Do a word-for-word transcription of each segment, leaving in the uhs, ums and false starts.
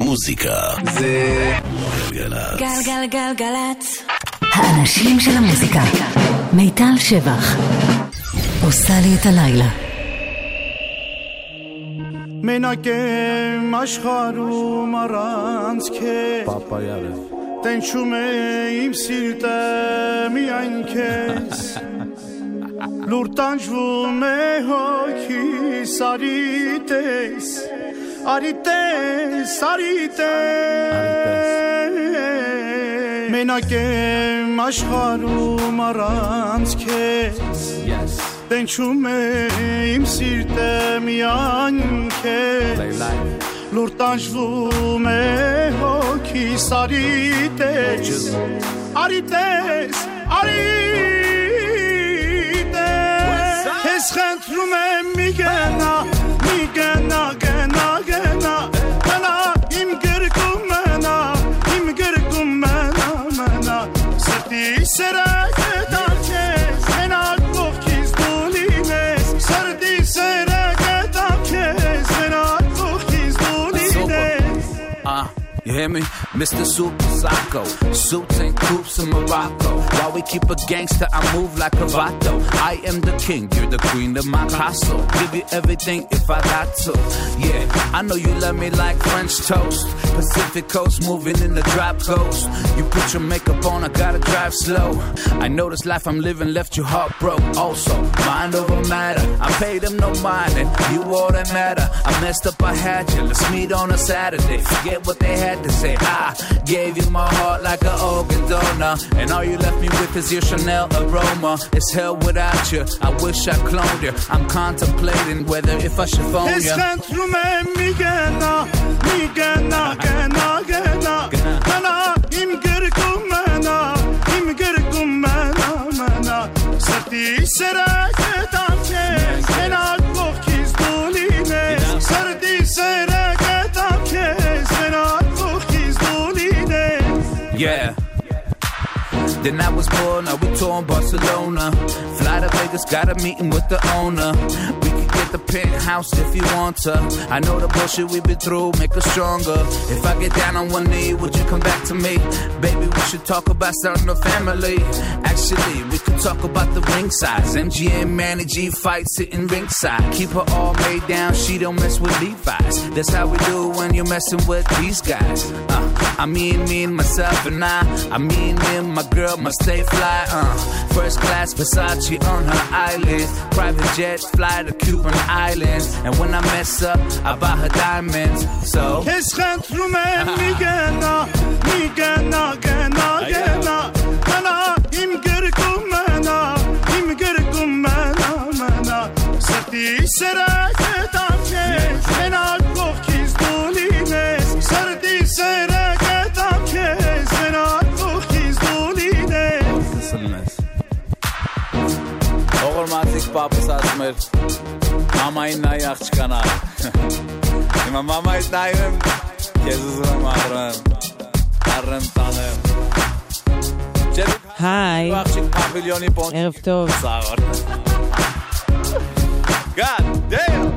המוזיקה זה גלגלצ. גלגלגלגלצ. האנשים של המוזיקה. מיטל שבח עושה לי את הלילה. מנגן משחרום ארנץ כס פאפה יאללה תן שומה עם סילטה מיין כס לורטן שבומה הוקי סריטס אריטס אריטס מנגן משחרום ארנץ כס Den chume im sirte mi anke Lortan shvume hoki sarites Arites, arites Es chentrume mi gena, mi gena, gena, gena Gena im girkum mena, im girkum mena, mena Serti serake darkes, gena You hear me? Mister Super Psycho. Suits and coops in Morocco. While we keep a gangster, I move like a vato. I am the king, you're the queen of my castle. Give you everything if I got to. Yeah, I know you love me like French toast. Pacific coast, moving in the drop coast. You put your makeup on, I gotta drive slow. I know this life I'm living left you heartbroken. Also, mind over matter. I paid them no mind, and you all that matter. I messed up, I had you. Let's meet on a Saturday. Forget what they had to say. I gave you my heart like an organ donor, and all you left me with is your Chanel aroma. It's hell without you. I wish I cloned you. I'm contemplating whether if I should phone you. mi gena, mi gena, gena, gena, gena, im girkum mena, im girkum mena, mena. Serti serake darkes, gena kokiz dolines. Serti serake darkes, gena kokiz dolines. Yeah. Then I was born, now we touring Barcelona. Fly to Vegas, got a meeting with the owner. We could get the penthouse if you want to. I know the bullshit we've been through, make us stronger. If I get down on one knee, would you come back to me? Baby, we should talk about starting a family. Actually, we could talk about the ring size. M G M, Manny G fight, sitting ringside. Keep her all made down, she don't mess with Levi's. That's how we do when you're messing with these guys. Uh, I mean, me and myself and I. I mean, me and my girl must stay fly, uh First class Versace on her eyelids. Private jets fly to Cuban islands. And when I mess up, I buy her diamonds. So Kes chentrume mi gena, mi gena, gena, gena Gena im girkum mena, im girkum mena, mena Serti serake darkes, gena kokiz dolines Serti serake darkes, gena Ogor mazik papa sasmer Mama inna yaxchkana Ima mama itnayim Kezuzuna mahrem Arrem tanem היי, ערב טוב. God damn.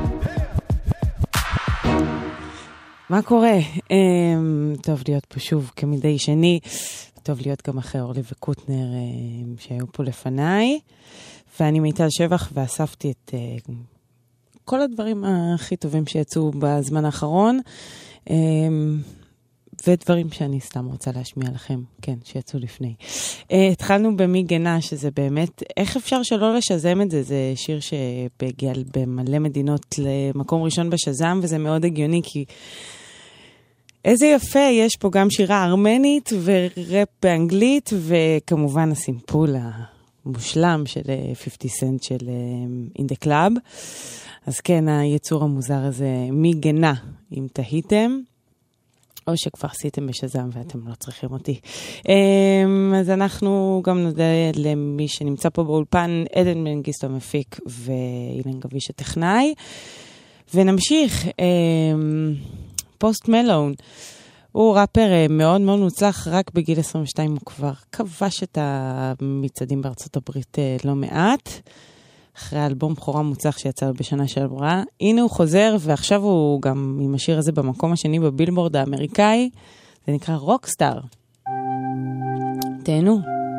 מה קורה? טוב להיות פה שוב כמדי שני. טוב להיות גם אחרי אורלי וקוטנר שהיו פה לפניי. ואני מיטל שבח ואספתי את uh, כל הדברים הכי טובים שיצאו בזמן האחרון, um, ודברים שאני סתם רוצה להשמיע לכם, כן, שיצאו לפני. Uh, התחלנו במי גנה, שזה באמת, איך אפשר שלא לשזם את זה? זה שיר שבגיע במלא מדינות למקום ראשון בשזם, וזה מאוד הגיוני, כי איזה יפה, יש פה גם שירה ארמנית ורפ באנגלית, וכמובן הסימפול מושלם של חמישים סנט של In The Club. אז כן, היצור המוזר הזה מגנה, אם תהיתם, או שכבר עשיתם בשזם ואתם לא צריכים אותי. אז אנחנו גם נודה למי שנמצא פה באולפן, עדן מנגיסטו המפיק ואילן גביש הטכנאי. ונמשיך, פוסט מלון. הוא ראפר מאוד מאוד מוצלח, רק בגיל עשרים ושתיים הוא כבר כבש את המצעדים בארצות הברית לא מעט, אחרי אלבום בכורה מוצלח שיצא בשנה שעברה. הנה הוא חוזר, ועכשיו הוא גם עם השיר הזה במקום השני בבילבורד האמריקאי. זה נקרא רוקסטאר. תהנו.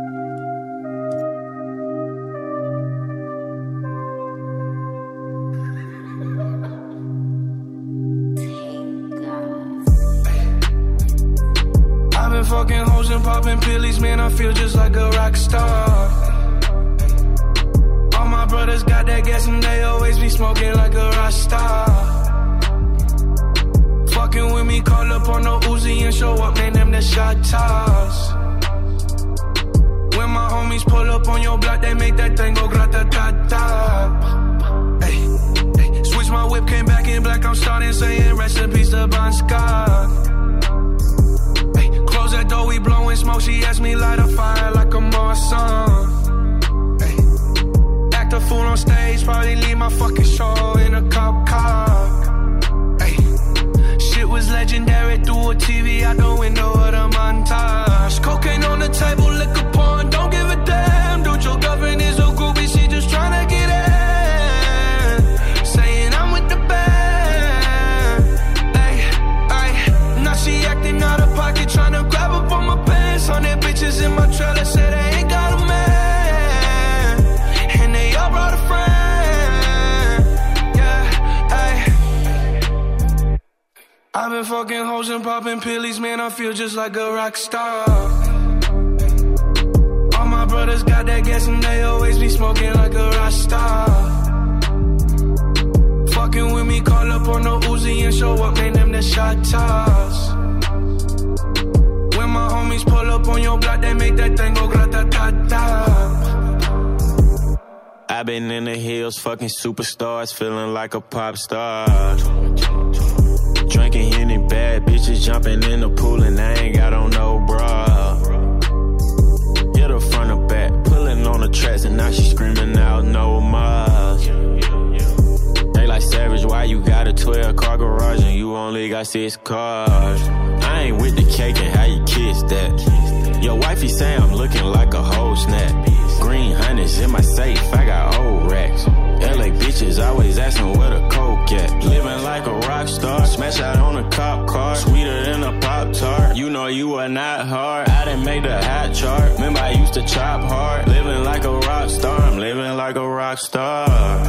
Fucking hoes and popping pillies, man, I feel just like a rock star. All my brothers got that gas and they always be smoking like a rock star. Fucking with me, call up on the Uzi and show up, man, them the shot toss. When my homies pull up on your block, they make that thing go grata-ta-ta. Hey, hey, switch my whip, came back in black, I'm starting saying rest in peace to Bon Scott. That door, we blowing smoke. She asked me light a fire like a Marsan. Hey. Act a fool on stage, probably leave my fucking show in a cop car. Hey. Shit was legendary through a T V out the window of the montage. Cocaine on the table, liquor porn, don't give a damn. Dude, your girlfriend is a groupie, she just tryna get in. Saying I'm with the band. Hey, hey. Now she acting out of pocket, tryna grab up on my pants. On their bitches in my trailer, say they ain't got a man. And they all brought a friend. Yeah, hey. I've been fucking hoes and popping pillies, man, I feel just like a rock star. All my brothers got that gas and they always be smoking like a rock star. Fucking with me, call up on the Uzi and show up, man, them the shot toss. My homies pull up on your block, they make that thing go grata-ta-ta. I've been in the hills, fucking superstars, feeling like a pop star. Drinking any bad bitches, jumping in the pool, and I ain't got on no bra. Hit her front or back, pulling on the tracks, and now she screaming out no more. They like Savage, why you got a twelve car garage and you only got six cars? I ain't with the cake and how you kiss that. Your wifey say I'm looking like a whole snap. Green hundreds in my safe, I got old racks. L A bitches always asking where the coke at. Living like a rock star, smash out on a cop car. Sweeter than a Pop-Tart, you know you are not hard. I didn't make the hot chart, remember I used to chop hard. Living like a rock star, I'm living like a rock star.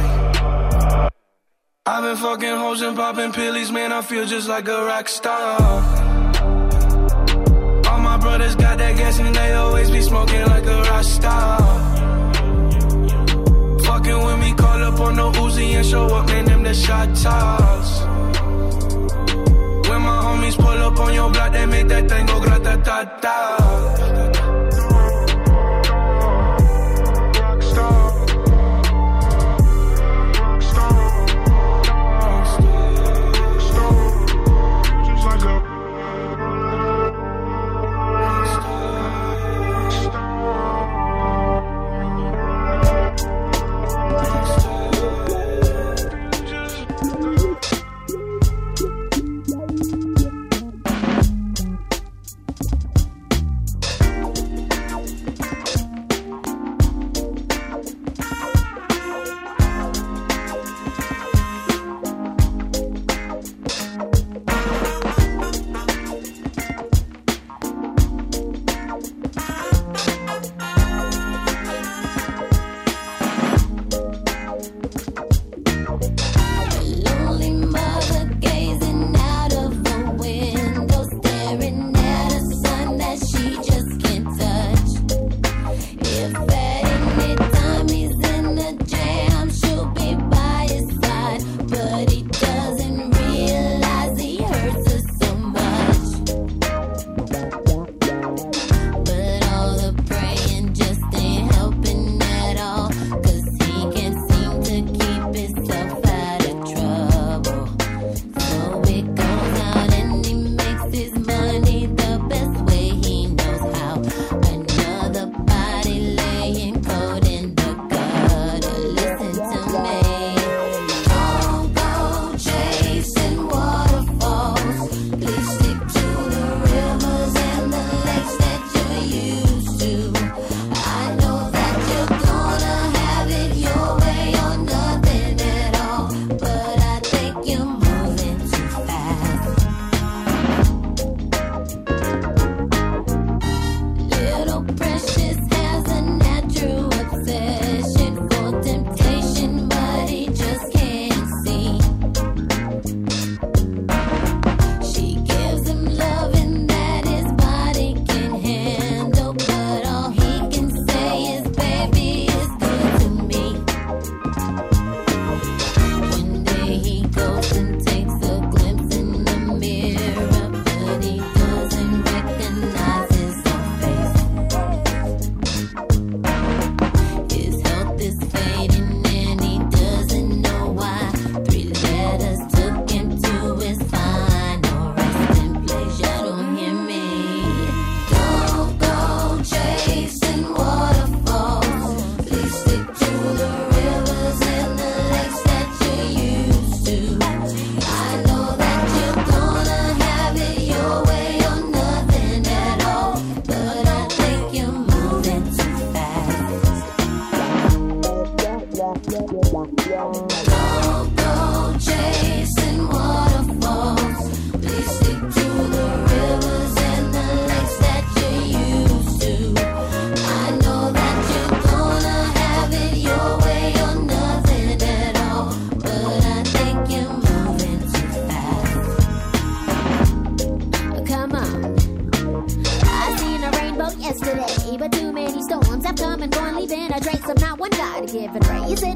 I've been fucking hoes and popping pillies, man, I feel just like a rock star. All my brothers got that gas and they always be smoking like a rock star. Fucking with me, call up on the Uzi and show up, man, them the shot toss. When my homies pull up on your block, they make that thing go grata-ta-ta.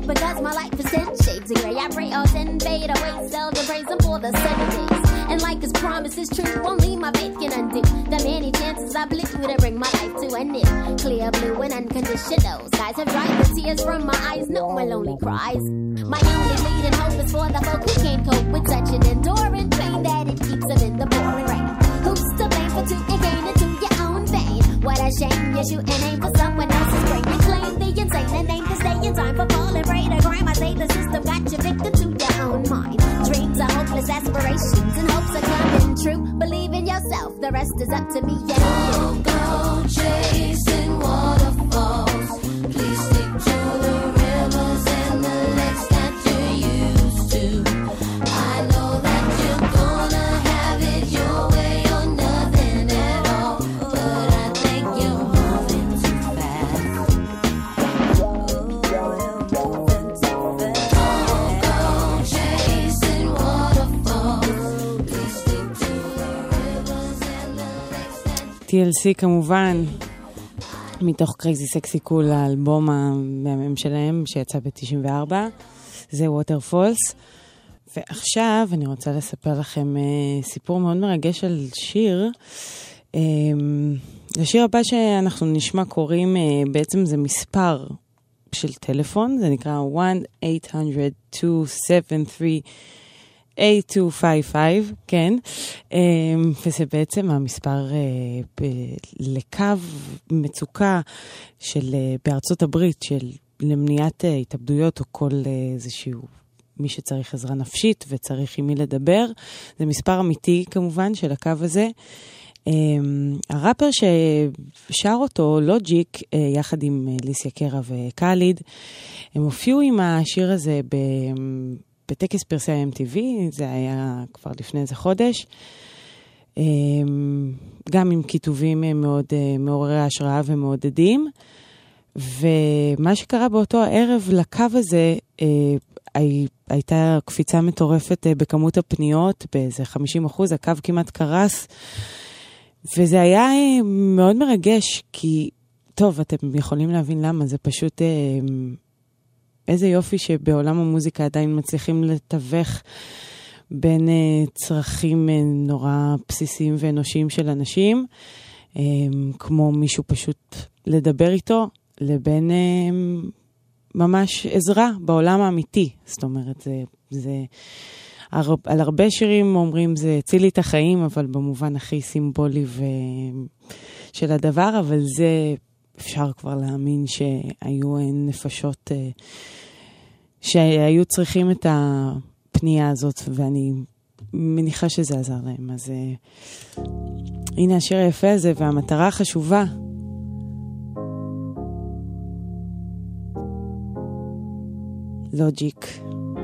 because my life is ten shades of gray. I pray all ten fade away, seldom praise him for the seven days. And like his promise is true, only my faith can undo the many chances I blew to bring my life to an end. Clear blue and unconditional skies have dried the tears from my eyes, no more lonely cries. My only leading hope is for the folk who can't cope with such an enduring pain that it keeps them in the pouring rain. Who's to blame for two and gain into your own vein? What a shame you shoot and aim for someone else's brain. You claim the insane and aim to stay in time for falling prey to crime. I say the system got you victim to your own mind. Dreams are hopeless aspirations and hopes are coming true. Believe in yourself, the rest is up to me and you. Don't go chasing waterfalls. Please stick to the rivers and the lakes that you're used to. I know that you're gonna have it your way or nothing at all, but I think you're moving too fast. Oh, you're moving too fast. Don't go chasing waterfalls. Please stick to the rivers and the lakes that... טי אל סי כמובן, מתוך קרייזי סקסי קול, האלבום המהמם שלהם שיצא ב-תשעים וארבע, זה ווטרפולס. ועכשיו אני רוצה לספר לכם uh, סיפור מאוד מרגש על שיר. Um, לשיר הבא שאנחנו נשמע קוראים, uh, בעצם זה מספר של טלפון, זה נקרא one eight hundred two seven three eight two five five, כן, um, וזה בעצם המספר uh, ב- לקו מצוקה של uh, בארצות הברית של למניעת uh, התאבדויות או כל uh, איזשהו מי שצריך עזרה נפשית וצריך עם מי לדבר. זה מספר אמיתי כמובן של הקו הזה. Um, הראפר ששר אותו, לוג'יק, uh, יחד עם uh, ליסיה קרה וקאליד, הם הופיעו עם השיר הזה ב... בטקס פרסי ה-אם טי וי, זה היה כבר לפני איזה חודש, גם עם כיתובים מאוד מעוררי השראה ומעודדים, ומה שקרה באותו הערב לקו הזה, הייתה קפיצה מטורפת בכמות הפניות, באיזה חמישים אחוז, הקו כמעט קרס, וזה היה מאוד מרגש, כי טוב, אתם יכולים להבין למה, זה פשוט... איזה יופי שבעולם המוזיקה עדיין מצליחים לתווך בין uh, צרכים uh, נורא בסיסיים ואנושיים של אנשים, um, כמו מישהו פשוט לדבר איתו, לבין um, ממש עזרה בעולם האמיתי. זאת אומרת, זה, זה הר, על הרבה שירים אומרים זה הציל לי את החיים, אבל במובן הכי סימבולי ו, של הדבר, אבל זה... אפשר כבר להאמין שהיו נפשות שהיו צריכים את הפנייה הזאת, ואני מניחה שזה עזר להם. אז הנה השיר היפה הזה, והמטרה החשובה. לוג'יק.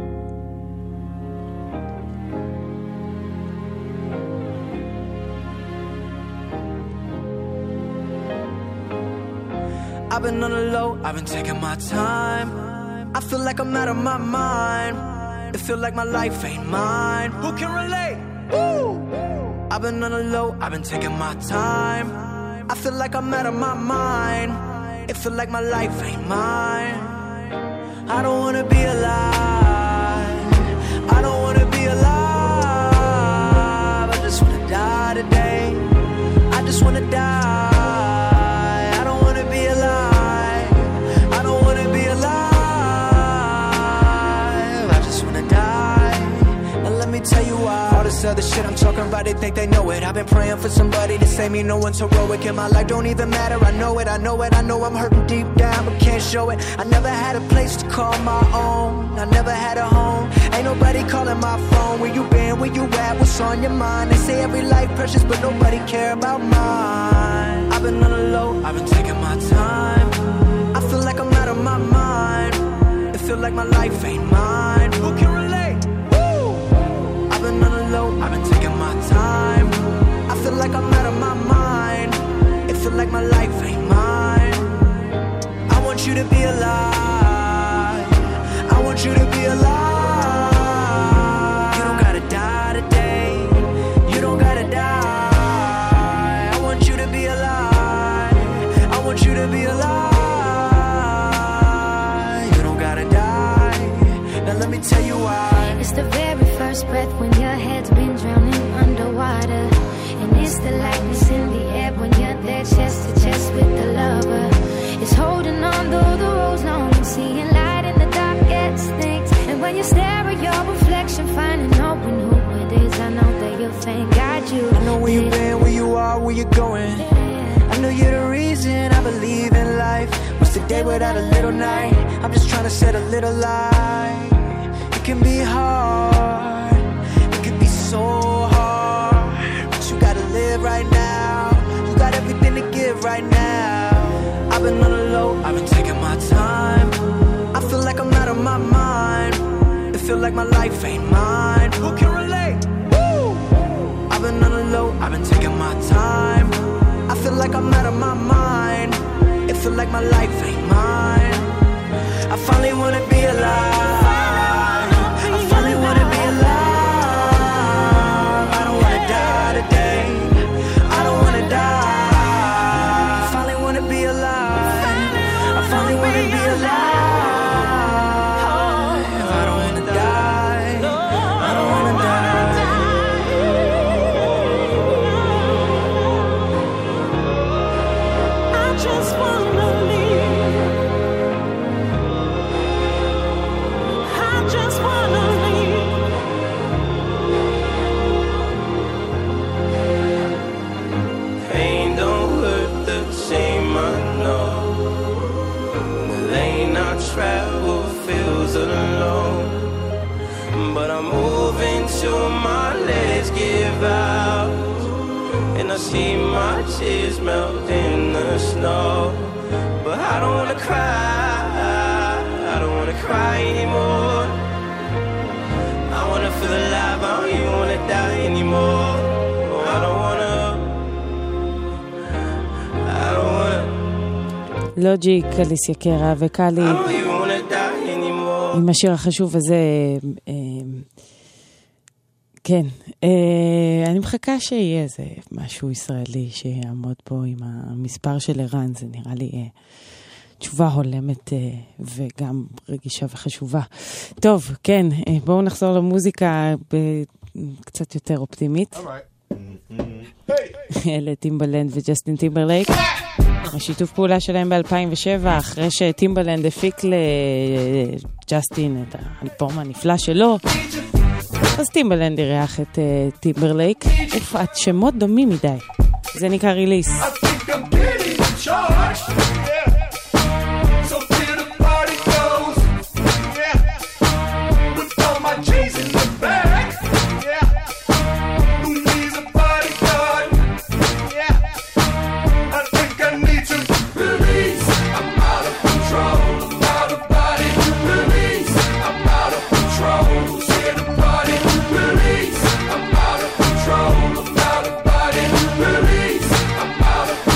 I've been on the low, I've been taking my time. I feel like I'm out of my mind. It feel like my life ain't mine. Who can relate? Woo! I've been on the low, I've been taking my time. I feel like I'm out of my mind. It feel like my life ain't mine. I don't wanna be alive. I don't wanna be alive. I just wanna die today. I just wanna die. Tell you why. All this other shit I'm talking about, they think they know it. I've been praying for somebody to save me, no one's heroic. And my life don't even matter, I know it, I know it. I know I'm hurting deep down, but can't show it. I never had a place to call my own. I never had a home. Ain't nobody calling my phone. Where you been, where you at, what's on your mind? They say every life precious, but nobody care about mine. I've been on the low, I've been taking my time. I feel like I'm out of my mind. It feel like my life ain't mine. Who can relate? I've been on the low, I've been taking my time. I feel like I'm out of my mind. It feel like my life ain't mine. I want you to be alive. I want you to be alive. You don't gotta die today. You don't gotta die. I want you to be alive. I want you to be alive. You don't gotta die. breath when your head's been drowning underwater. And it's the lightness in the air when you're there chest to chest with the lover. It's holding on though the road's long and seeing light in the darkest things. And when you stare at your reflection, finding out when who it is, I know that you'll thank God you. I know where you've been, where you are, where you're going. I know you're the reason I believe in life. What's the day without a little night? I'm just trying to set a little light. It can be hard, it can be so hard, but you gotta live right now. You got everything to give right now. I've been on the low, I've been taking my time. I feel like I'm out of my mind. It feel like my life ain't mine. Who can relate? Woo! I've been on the low, I've been taking my time. I feel like I'm out of my mind. It feel like my life ain't mine. I finally wanna be alive. I finally wanna be alive. I don't wanna die today. I don't wanna die. I finally wanna be alive. I finally wanna be alive. I don't wanna die. I don't wanna die. I just wanna live. I just wanna live. Pain don't hurt the same, I know. The lane I travel feels alone, but I'm moving till my legs give out, and I see my tears melt in the snow. But I don't wanna cry, I don't wanna cry anymore. I wanna feel alive, I don't even wanna die anymore. Oh, I don't wanna, I don't wanna, לוג'יק, אליסיה קרה וקלי, I don't even wanna die anymore. עם השיר החשוב הזה. אה, כן, אה, אני מחכה שיהיה איזה משהו ישראלי שיעמוד פה עם המספר של ערן. זה נראה לי אה, תשובה הולמת אה, וגם רגישה וחשובה. טוב, כן, אה, בואו נחזור למוזיקה קצת יותר אופטימית. אלה טימבלנד וג'סטין טימברלייק. השיתוף פעולה שלהם ב-אלפיים ושבע, אחרי שטימבלנד הפיק לג'סטין את האלבום הנפלא שלו, אז טימבלנד אירח את uh, טימברלייק. ופעת שמות דומים מדי. זה נקרא ריליס. Out of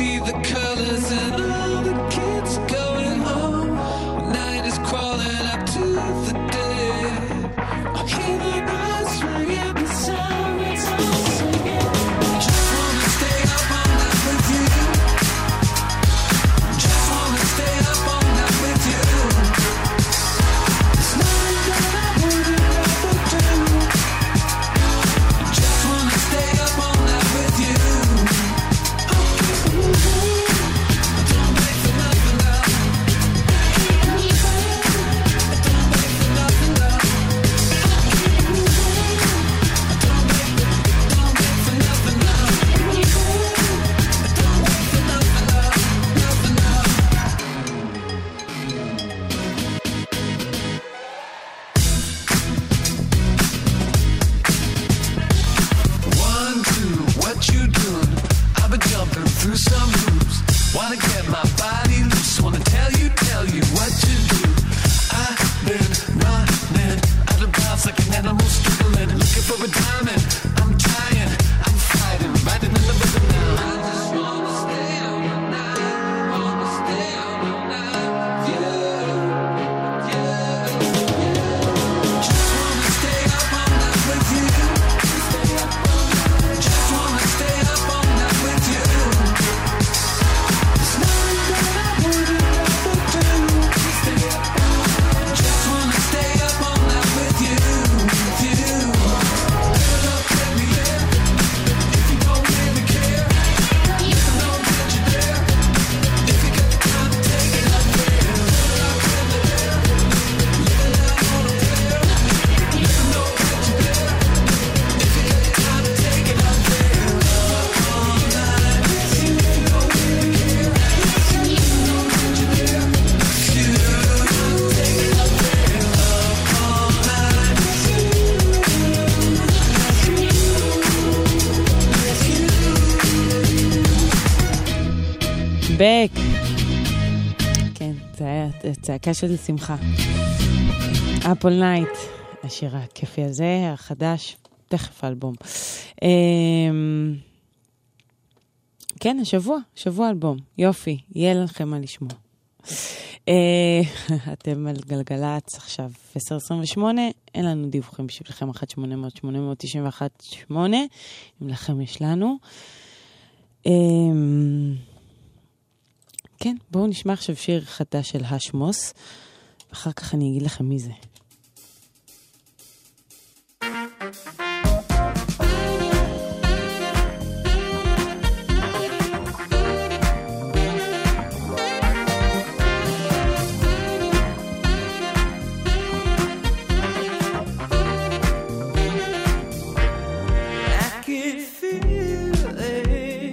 see the colors and all the kids going home. Night is crawling up to the dead. I hear the bells ringing, the sirens all singing. Just wanna stay up all night with you. Just wanna stay up all night with you. There's nothing that I wouldn't ever do. Just wanna stay up all night with you. Don't wait for nothing, love. Don't wait for nothing, love. Don't wait, don't wait for nothing, love. Don't wait for nothing, love. Nothing, love. One, two, what you doing? I've been jumping through some hoops. Wanna get my body loose. Wanna tell you, tell you what to do. I've been running out of bounds like an animal struggling, looking for a diamond. I'm trying, I'm fighting, riding in the rhythm now. I just wanna stay up all night, wanna stay up all night with you, yeah, yeah. Just wanna stay up all night with you. Stay up all night. Just wanna stay up all night with you. There's nothing that I wouldn't ever do. Stay up all night. Just wanna stay up all night with you, with you. Girl, don't tell me yeah, if you don't really care. Let me know that you're there. If you got the time to take it up there. Girl, I'll tell me there. Living out on a prayer. Let me know that you're there. If you got the time to take it up there. Up all night with you. If you don't really care. Let me know that you're there. With you. Take it up there. Up all night with you. בק. כן, זה היה צעקה של שמחה. אפל נייט, השיר הכיפי הזה, החדש, תכף אלבום. אמ, כן, השבוע, שבוע אלבום, יופי, יהיה לכם מה לשמוע. אה, אתם על גלגלץ עכשיו עשר עשרים ושמונה, אין לנו דיווחים בשבילכם אחת שמונה אפס אפס שמונה תשע אחת שמונה, אם לכם יש לנו. אמ, כן, בואו נשמע עכשיו שיר חדש של השמוס, ואחר כך אני אגיד לכם מי זה. I could feel it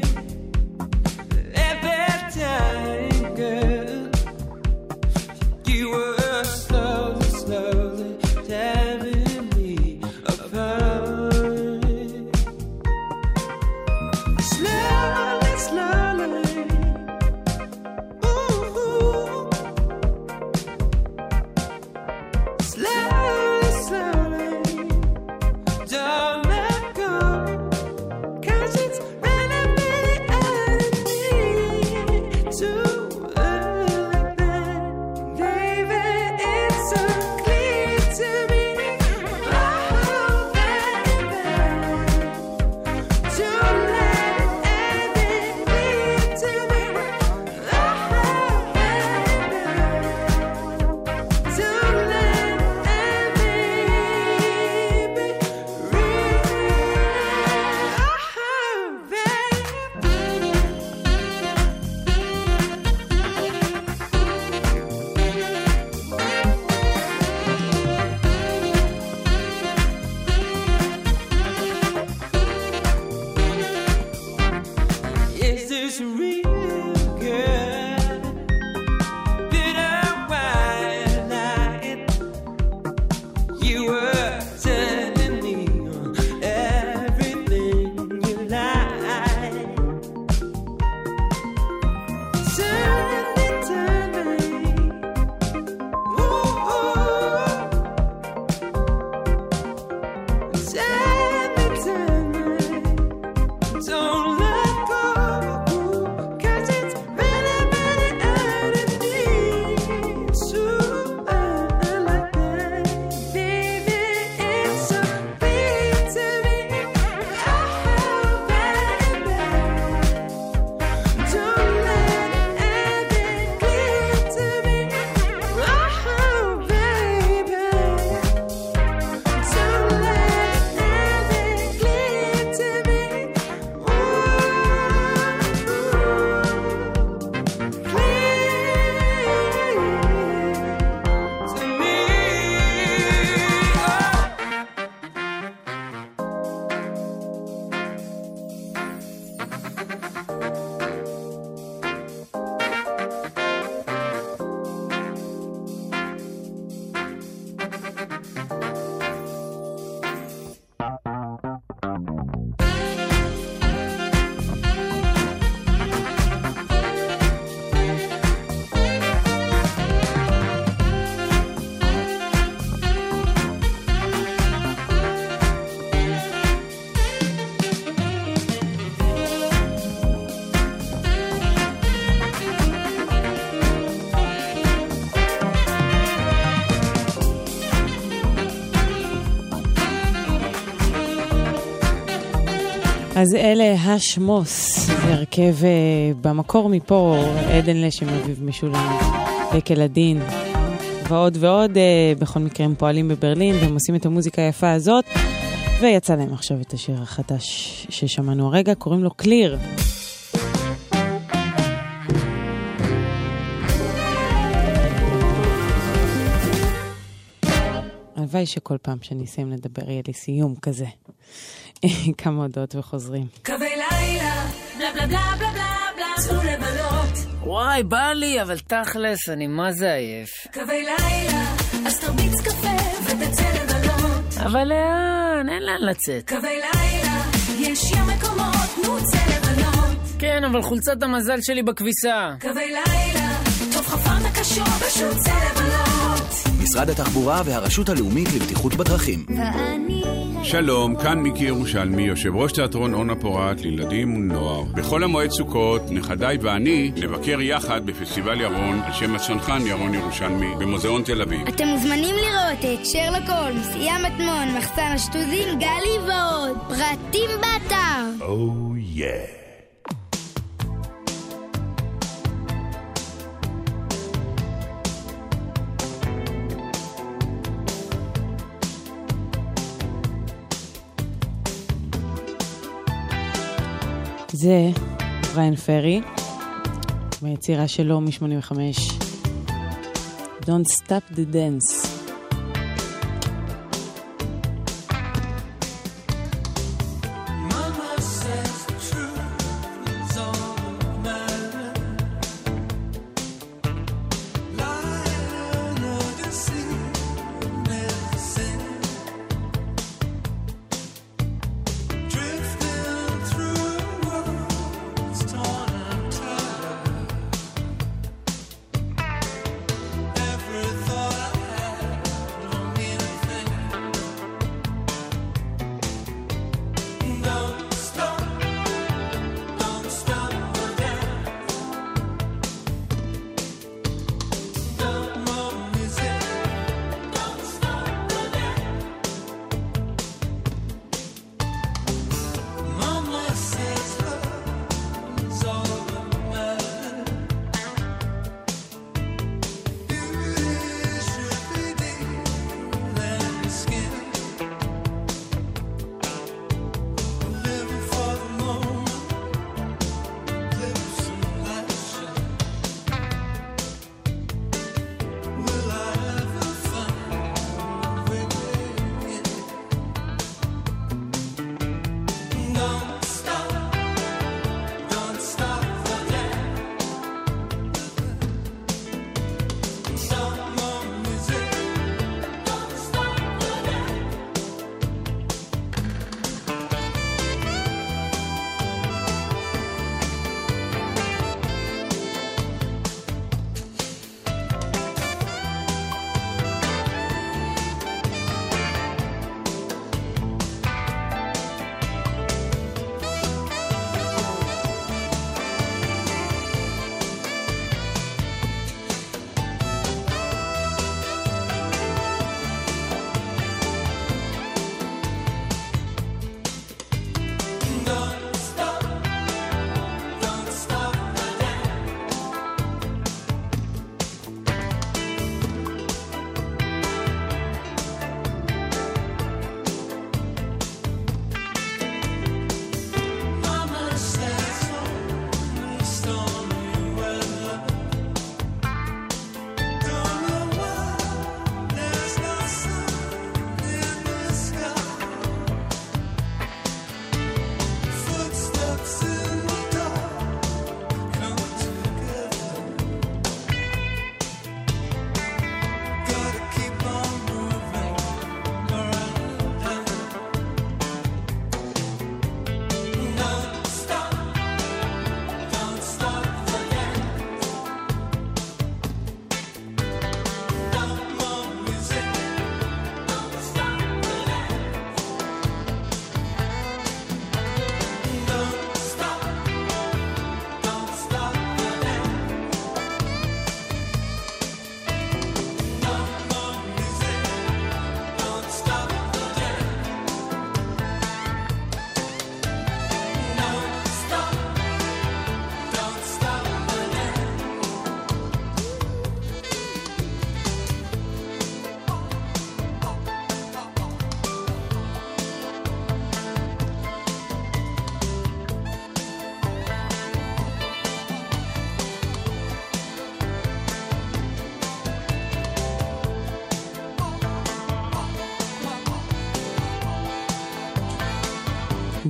every time, girl. You were slowly, slowly tearing me apart. Slowly, slowly. Ooh. Slowly, slowly. Don't let go, 'cause it's running me out of me to like that. Baby, it's so clear to me. Oh, baby, don't let anything lead to me. Oh, baby, don't let anything be real. Is this real, girl? Did I white lie? You were telling me on everything you like. Turn me, turn me. Ooh, ooh. Turn me, turn me. Don't let go, 'cause אז אלה השמוס, זה הרכב במקור מפה, עדן לשם, אביב משולם, דקל הדין, ועוד ועוד. בכל מקרה הם פועלים בברלין והם עושים את המוזיקה היפה הזאת, ויצא להם עכשיו את השיר החדש ששמענו הרגע, קוראים לו קליר. הלוואי שכל פעם שאני אסיים לדבר יהיה לי סיום כזה. כמה הודעות וחוזרים. קווי לילה, בלה בלה בלה בלה בלה בלה, צאו לבלות. וואי, בא לי, אבל תכלס, אני מה זה עייף. קווי לילה, אז תרביץ קפה ותצא לבלות. אבל לאן, אין לאן לצאת. קווי לילה, יש ים מקומות, נו צא לבלות. כן, אבל חולצת המזל שלי בכביסה. קווי לילה, טוב חפרת קשור, פשוט צא לבלות. משרד התחבורה והרשות הלאומית לבטיחות בדרכים. שלום, כאן מיקי ירושלמי, יושב ראש תיאטרון אונה פורת לילדים ונוער. בכל המועד סוכות, נכדיי ואני נבקר יחד בפסטיבל ירון על שם הצנחן ירון ירושלמי במוזיאון תל אביב. אתם מוזמנים לראות את שרלוק הולמס, ים מטמון, מחסן השטוזים, גלי ועוד. פרטים באתר. Oh yeah. זה בריין פרי, ביצירה שלו מ-שמונים וחמש, Don't Stop the Dance. Every thought I had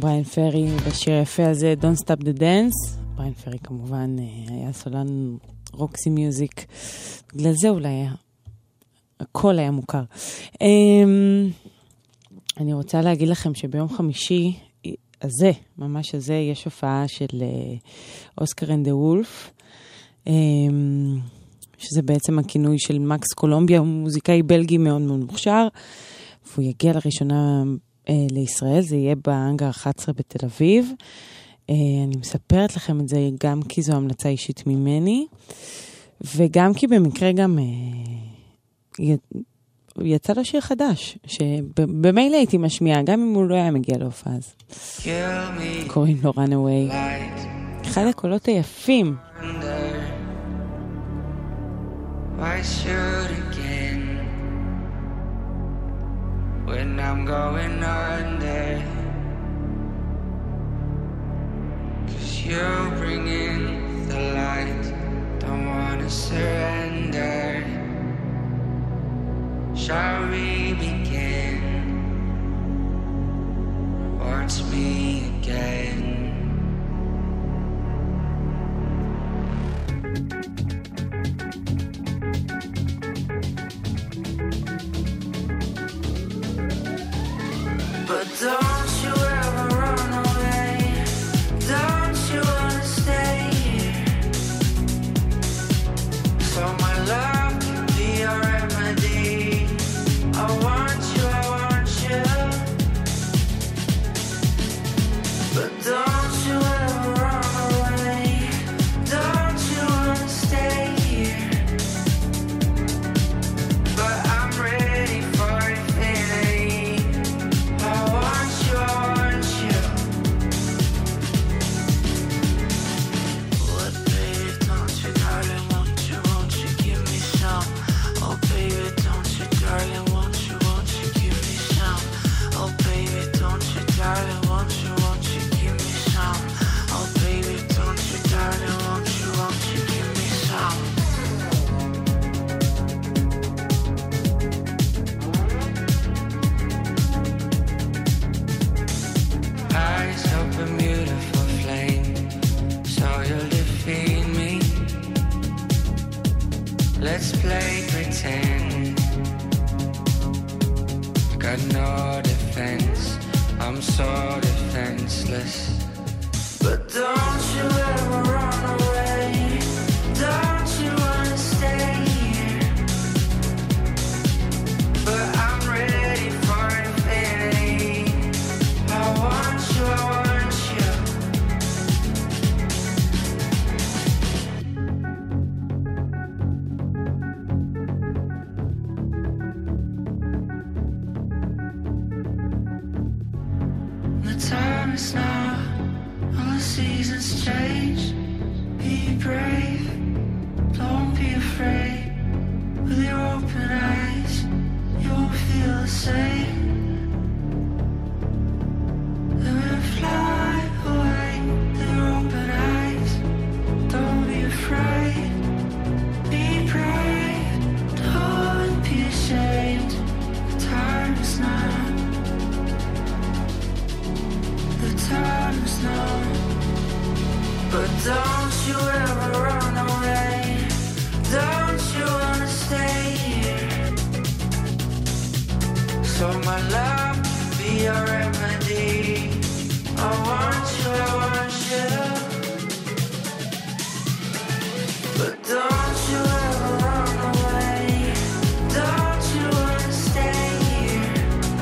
בריין פרי בשיר היפה הזה, Don't Stop the Dance. בריין פרי כמובן היה סולן רוקסי מיוזיק, בגלל זה אולי היה, הכל היה מוכר. אני רוצה להגיד לכם שביום חמישי הזה, ממש הזה, יש הופעה של אוסקר אנד דה וולף, שזה בעצם הכינוי של מקס קולומביה, הוא מוזיקאי בלגי מאוד מאוד מוכשר, והוא יגיע לראשונה לישראל, זה יהיה באנגר אחת עשרה בתל אביב. אני מספרת לכם את זה גם כי זו המלצה אישית ממני, וגם כי במקרה גם יצא לו שיר חדש, שבמילא הייתי משמיעה, גם אם הוא לא היה מגיע להופעה אז. קוראים לו Runaway. אחד הקולות היפים. I should again when I'm going under, 'cause you're bringing the light, don't wanna surrender. Shall we begin? Watch me again. But don't you ever run away, don't you wanna stay here, so my love can be your remedy. I want you, I want you, but don't you ever run away, don't you wanna stay here, but I'm ready for infinity. I want you, I want you. What, baby, don't you, darling, won't you, won't you give me some? Oh, baby, don't you, darling, won't you, won't you give me some? Oh, baby, don't you, darling, won't you, won't you give me some? Oh, baby, don't you, darling, won't you, won't you give me some? Eyes open, beautiful flame, so you'll defeat me. Let's play pretend. Got no defense, I'm so defenseless. But don't you ever run away, don't you wanna stay here, but I'm ready for infinity. I want you, I want you. The time is now, all the seasons change. Be brave, don't be afraid. With your open eyes, you won't feel the same. Let me fly away with your open eyes. Don't be afraid, be brave, don't be ashamed. The time is now, the time is now. But don't you ever run away, don't you wanna stay here, so my love can be your remedy. I want you, I want you, but don't you ever run away, don't you wanna stay here,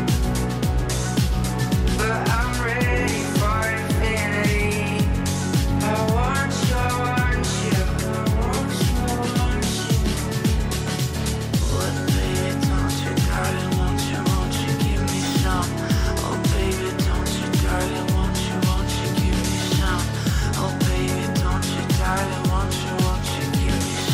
but I'm ready for infinity. I want you, I want you, I want you, I want you. What, baby, don't you, darling, won't you, won't you give me some? Oh, baby, don't you, darling, won't you, won't you give me some? Oh, baby, don't you, darling, won't you, won't you give me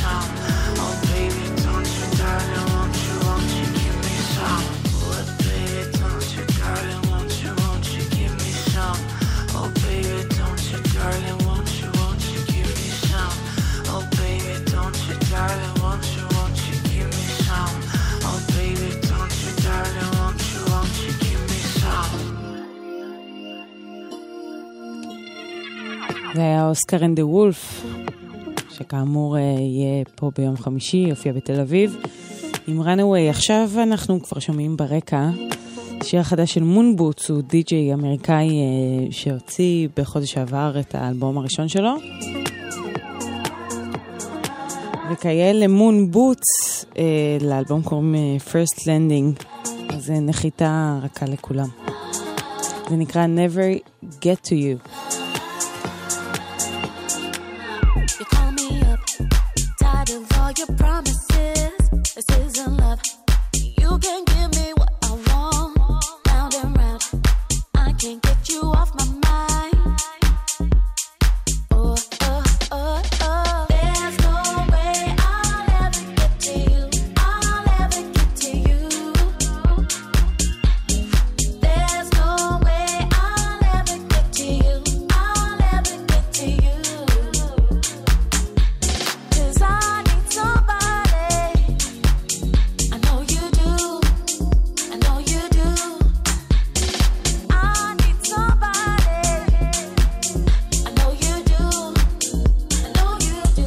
זה היה אוסקר אנד דה וולף, שכאמור יהיה פה ביום חמישי, יופיע בתל אביב, עם Runaway. עכשיו אנחנו כבר שומעים ברקע שיר החדש של מונבוטס, הוא די-ג'יי אמריקאי שהוציא בחודש העבר את האלבום הראשון שלו. וכאלה מונבוטס, לאלבום קוראים First Landing, אז זה נחיתה רכה לכולם. זה נקרא Never Get To You. You call me up, tired of all your promises. This isn't love. You can give me what I want, round and round. I can't get you off my mind. Oh, oh, oh, oh. There's no way I'll ever get to you. I'll ever get to you. There's no way I'll ever get to you. I'll ever get to you. 'Cause I need somebody. I know you do. I know you do. I need somebody. I know you do. I know you do.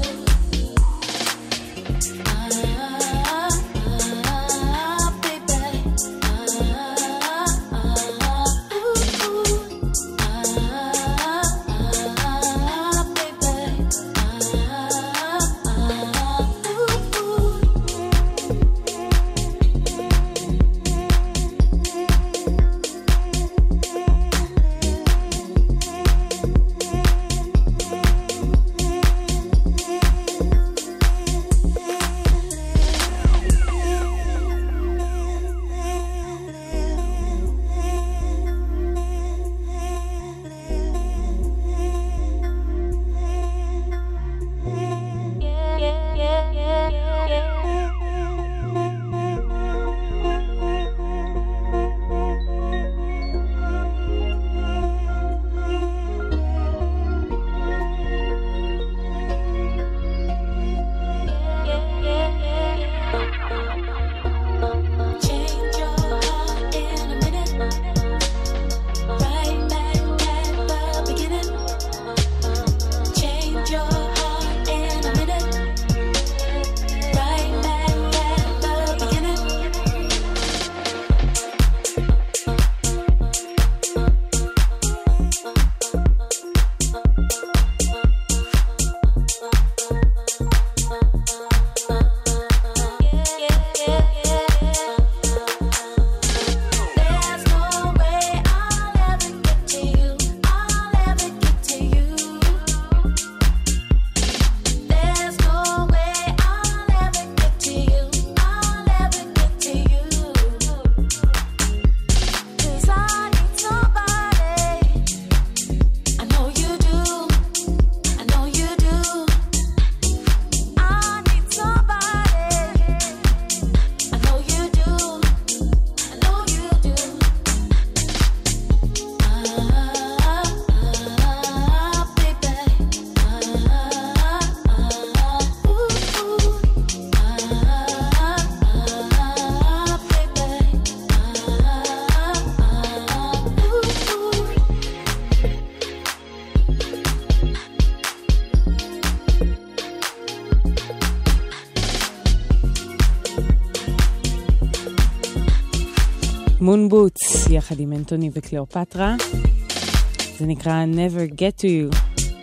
Ah, ah, baby. Ah, ah, ooh, ooh. Ah, baby. Change your heart in a minute. Right back at the beginning. Change your heart in a minute. Right back at the beginning. There's no way I'll ever get to you. I'll ever get to you. There's no way I'll ever get to you. I'll ever get to you. 'Cause I need somebody. I know you do. I know you do. I need somebody. I know you do. I know you do. Ah, ah, baby. Ah, ah, ooh, ooh. Ah, ah, baby. מונבוטס, יחד עם אנטוני וקליאופטרה. זה נקרא Never Get To You.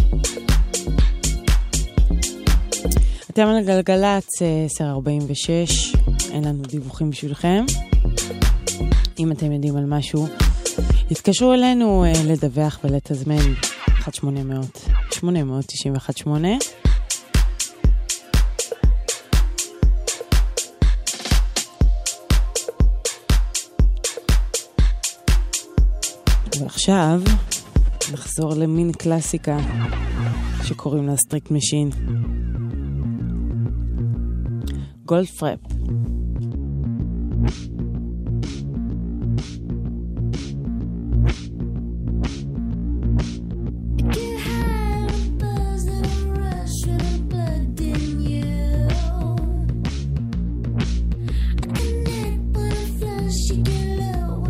אתם על גלגלצ, עשר ארבעים ושש, אין לנו דיווחים בשבילכם. אם אתם יודעים על משהו, התקשרו אלינו אה, לדווח ולתזמן אחת שמונה אפס אפס שמונה תשע אחת שמונה. ועכשיו נחזור למין קלאסיקה שקוראים לה סטריקט משין. גולדפרפ.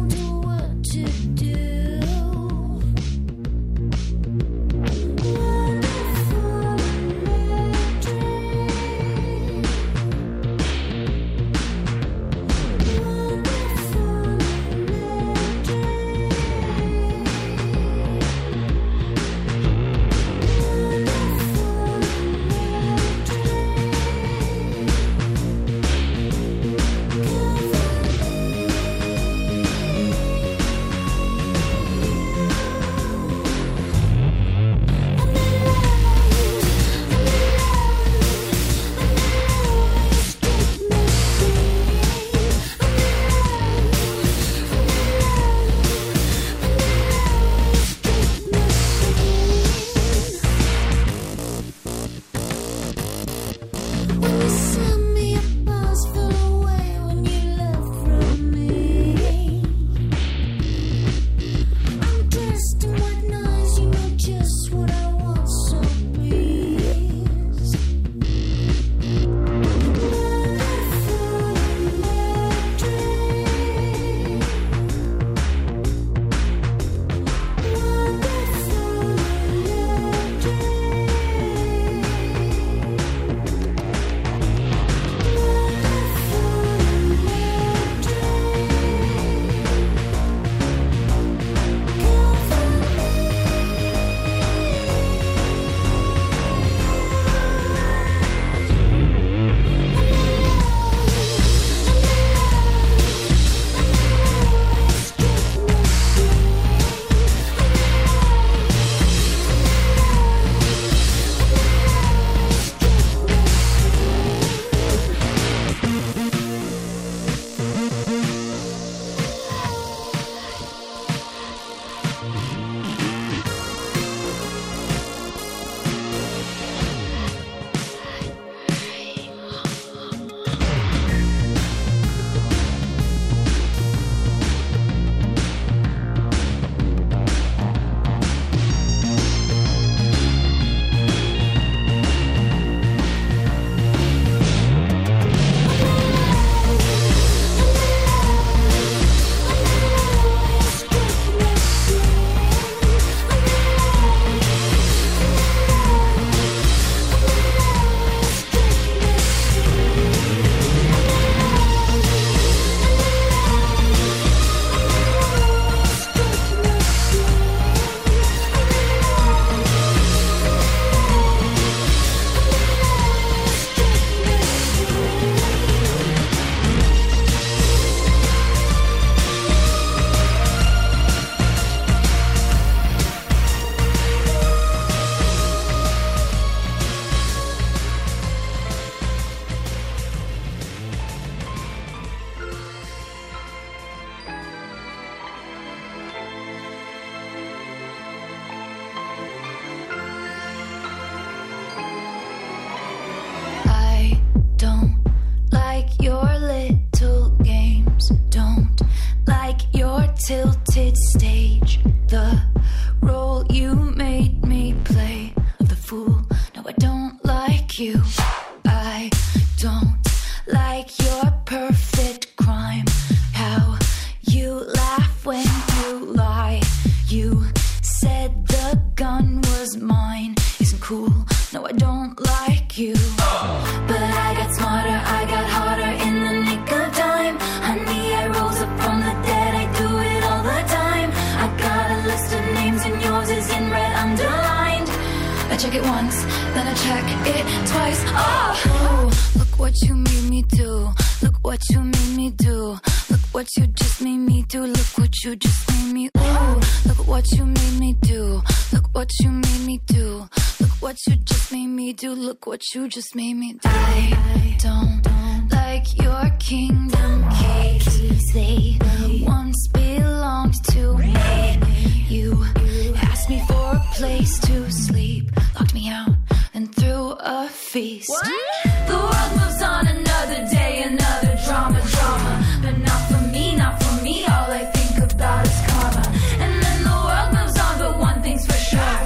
What you. I don't like your perfect crime. How you laugh when you lie. You said the gun was mine. Isn't cool. No, I don't like you. But I got smarter, I got harder in the nick of time. Honey, I rose up from the dead, I do it all the time. I got a list of names and yours is in red underlined. I check it once, then I check it twice. Oh, oh, look what you made me do. Look what you made me do. Look what you just made me do. Look what you just made me. Ooh, look what you made me do. Look what you made me do. Look what you just made me do. Look what you just made me do. I don't like your kingdom keys. They once belonged to me. You asked me for a place to sleep, locked me out, then threw a feast. What? The world moves on, another day, another drama, drama. But not for me, not for me. All I think about is karma. And then the world moves on, but one thing's for sure.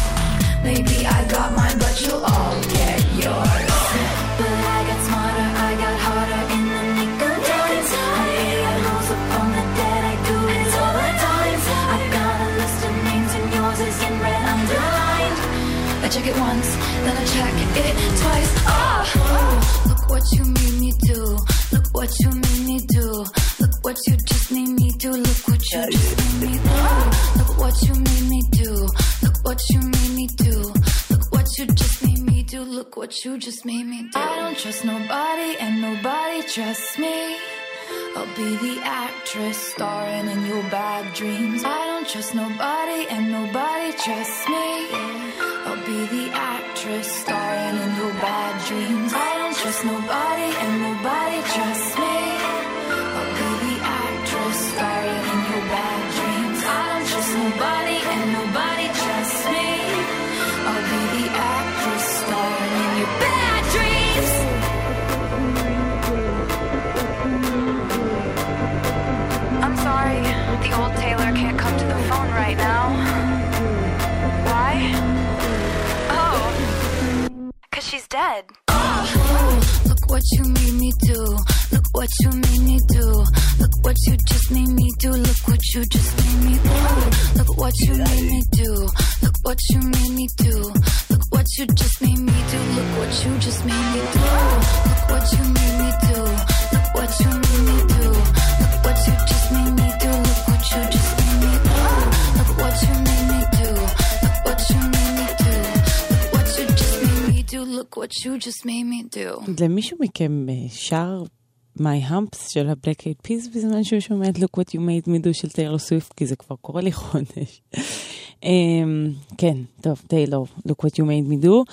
Maybe I got mine, but you'll all get yours. But I got smarter, I got harder in the nick of time. Honey, I rose up from the dead, I do it all the time. I got a list of names and yours is in red underlined. I check it once, then I check it twice. Oh, oh, look what you made me do. Look what you made me do. Look what you just made me do. Look what you just made me do. Look what you made me do. Look what you made me do. Look what you just made me do. Look what you just made me do. I don't trust nobody and nobody trusts me. I'll be the actress starring in your bad dreams. I don't trust nobody and nobody trusts me. I'll be the actress starring in your bad dreams. I don't trust nobody and nobody trusts me. I'll be the actress starring in your bad dreams. I don't trust nobody and nobody trusts me. I'll be the actress starring in your bad dreams. I'm sorry, the old Taylor can't come to the phone right now. Why? Oh, 'cause she's dead. Oh, look what you made me do. Look what you made me do. Look what you just made me do. Look what you just made me do. Look what you made me do. Look what you made me do. Look what you just made me do. Look what you just made me do. Look what you made me do. Look what you made me do. Look what you just made me do. Look what you just made me do. Look what you made me do. Look what you made me do. Look what you just made me do. Look what you just made me do. למישהו מכם שר My Humps של ה-Black Eyed Peas בזמן שהוא שומע את Look What You Made Me Do של טיילור סוויפט, כי זה כבר קורה לי חודש. כן, טוב, טיילור, Look What You Made Me Do.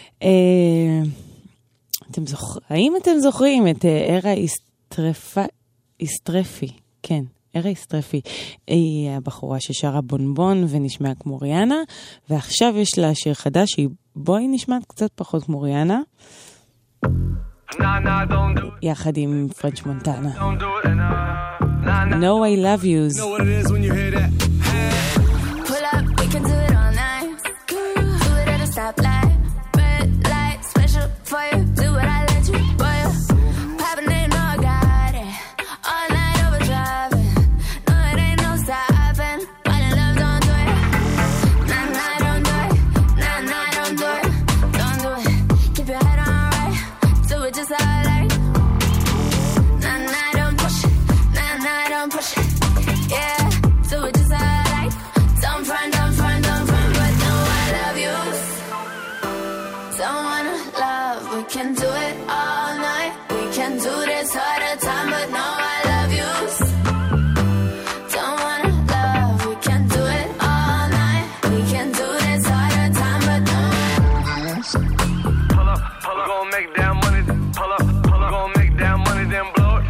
אתם זוכרים, האם אתם זוכרים את ארה איסטרפי? כן, ארה איסטרפי. היא הבחורה ששרה בונבון ונשמעה כמו ריאנה, ועכשיו יש לה שיר חדש שהיא בואי נשמעת קצת פחות כמו ריאנה. יחד עם פרנץ' מונטנה. No I Love Yous. Know what it is when you hear that. Pull up, we can do it all night. Do it at a stoplight. Red light, special for you. Do what I let you, boy. Poppin' it, no, I got it. All night overdriving. No, it ain't no stopping. While in love, don't do it. Nah, nah, don't do it. Nah, nah, don't do it. Don't do it. Keep your head on right. Do it just how I like. Nah, nah, don't push it. Nah, nah, don't push it. Yeah, do it just how I like. Don't front, don't front, don't front, but no, I love you. Don't wanna love, we can do it all night. We can do this all the time, but no, I love you. Don't wanna love, we can do it all night. We can do this all the time, but no. Pull up, pull up, gon' make that money. Pull up, pull up, gon' make that money, then blow it.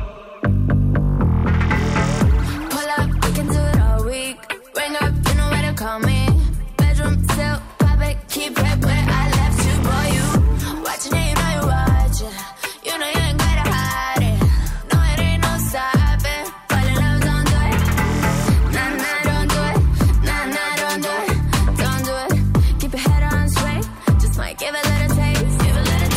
Pull up, we can do it all week. Ring up, you know where to call me. Bedroom, silk, pop it, keep it where I left you, boy. You watching it, you know you watching. You know you ain't gotta hide it. No, it ain't no stopping. Fall in love, don't do it. Nah, nah, don't do it. Nah, nah, don't do it. Don't do it. Keep your head on straight. Just might give a little taste. Give a little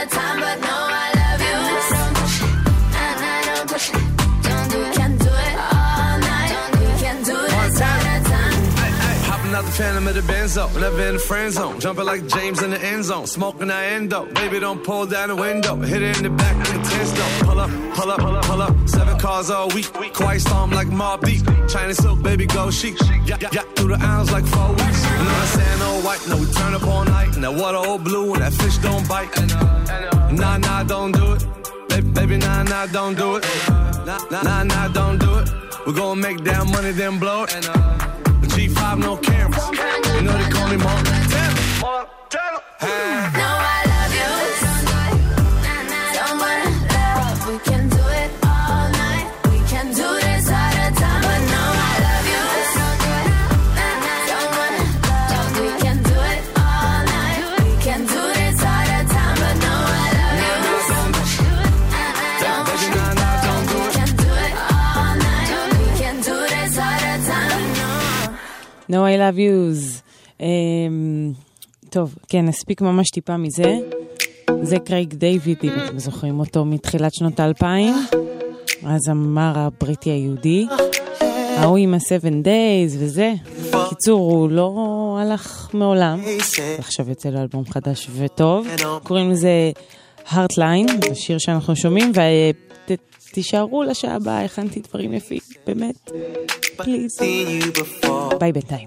of time, but no, I love you. Don't push it, nah, nah, don't push it. Don't do it, can do it all night. We can do this all the time. Hopping out the phantom of the Benzo, never in the friend zone. Jumping like James in the end zone, smoking that endo. Baby, don't pull down the window. Hit it in the back with the ten though. Pull up, pull up, pull up, pull up. Seven cars all week. Quiet storm like Mobb Deep. China silk, baby, go chic. Yeah, yeah, yeah, through the aisles like four weeks. And I'm saying no white, no, we turn up all night. And that water all blue, and that fish don't bite. Nah, nah, don't do it. Baby, baby, nah, nah, don't do it. Nah, nah, nah, nah, don't do it. We're gonna make that money, then blow it. G five, no cameras. You know they call me Montana. Montana. No, I love you. Don't wanna love. We can do it all night. We can do this all the time. But no, I love you. Don't wanna love. We can do it all night. We can do this all the time. But no, I love you. Don't push it. Don't push it. We can do it all night. We can do this all the time. No, I love yous. Um, טוב, כן, נספיק ממש טיפה מזה. זה קרייג דיוויד, אם אתם זוכרים אותו מתחילת שנות האלפיים. הזמר הבריטי היהודי. ההוא עם ה-Seven Days וזה. בקיצור, הוא לא הלך מעולם. עכשיו יוצא לו אלבום חדש וטוב. קוראים לזה Heartline, זה שיר שאנחנו שומעים, ותישארו לשעה הבאה, הכנתי דברים יפים, באמת. פליז. ביי בינתיים.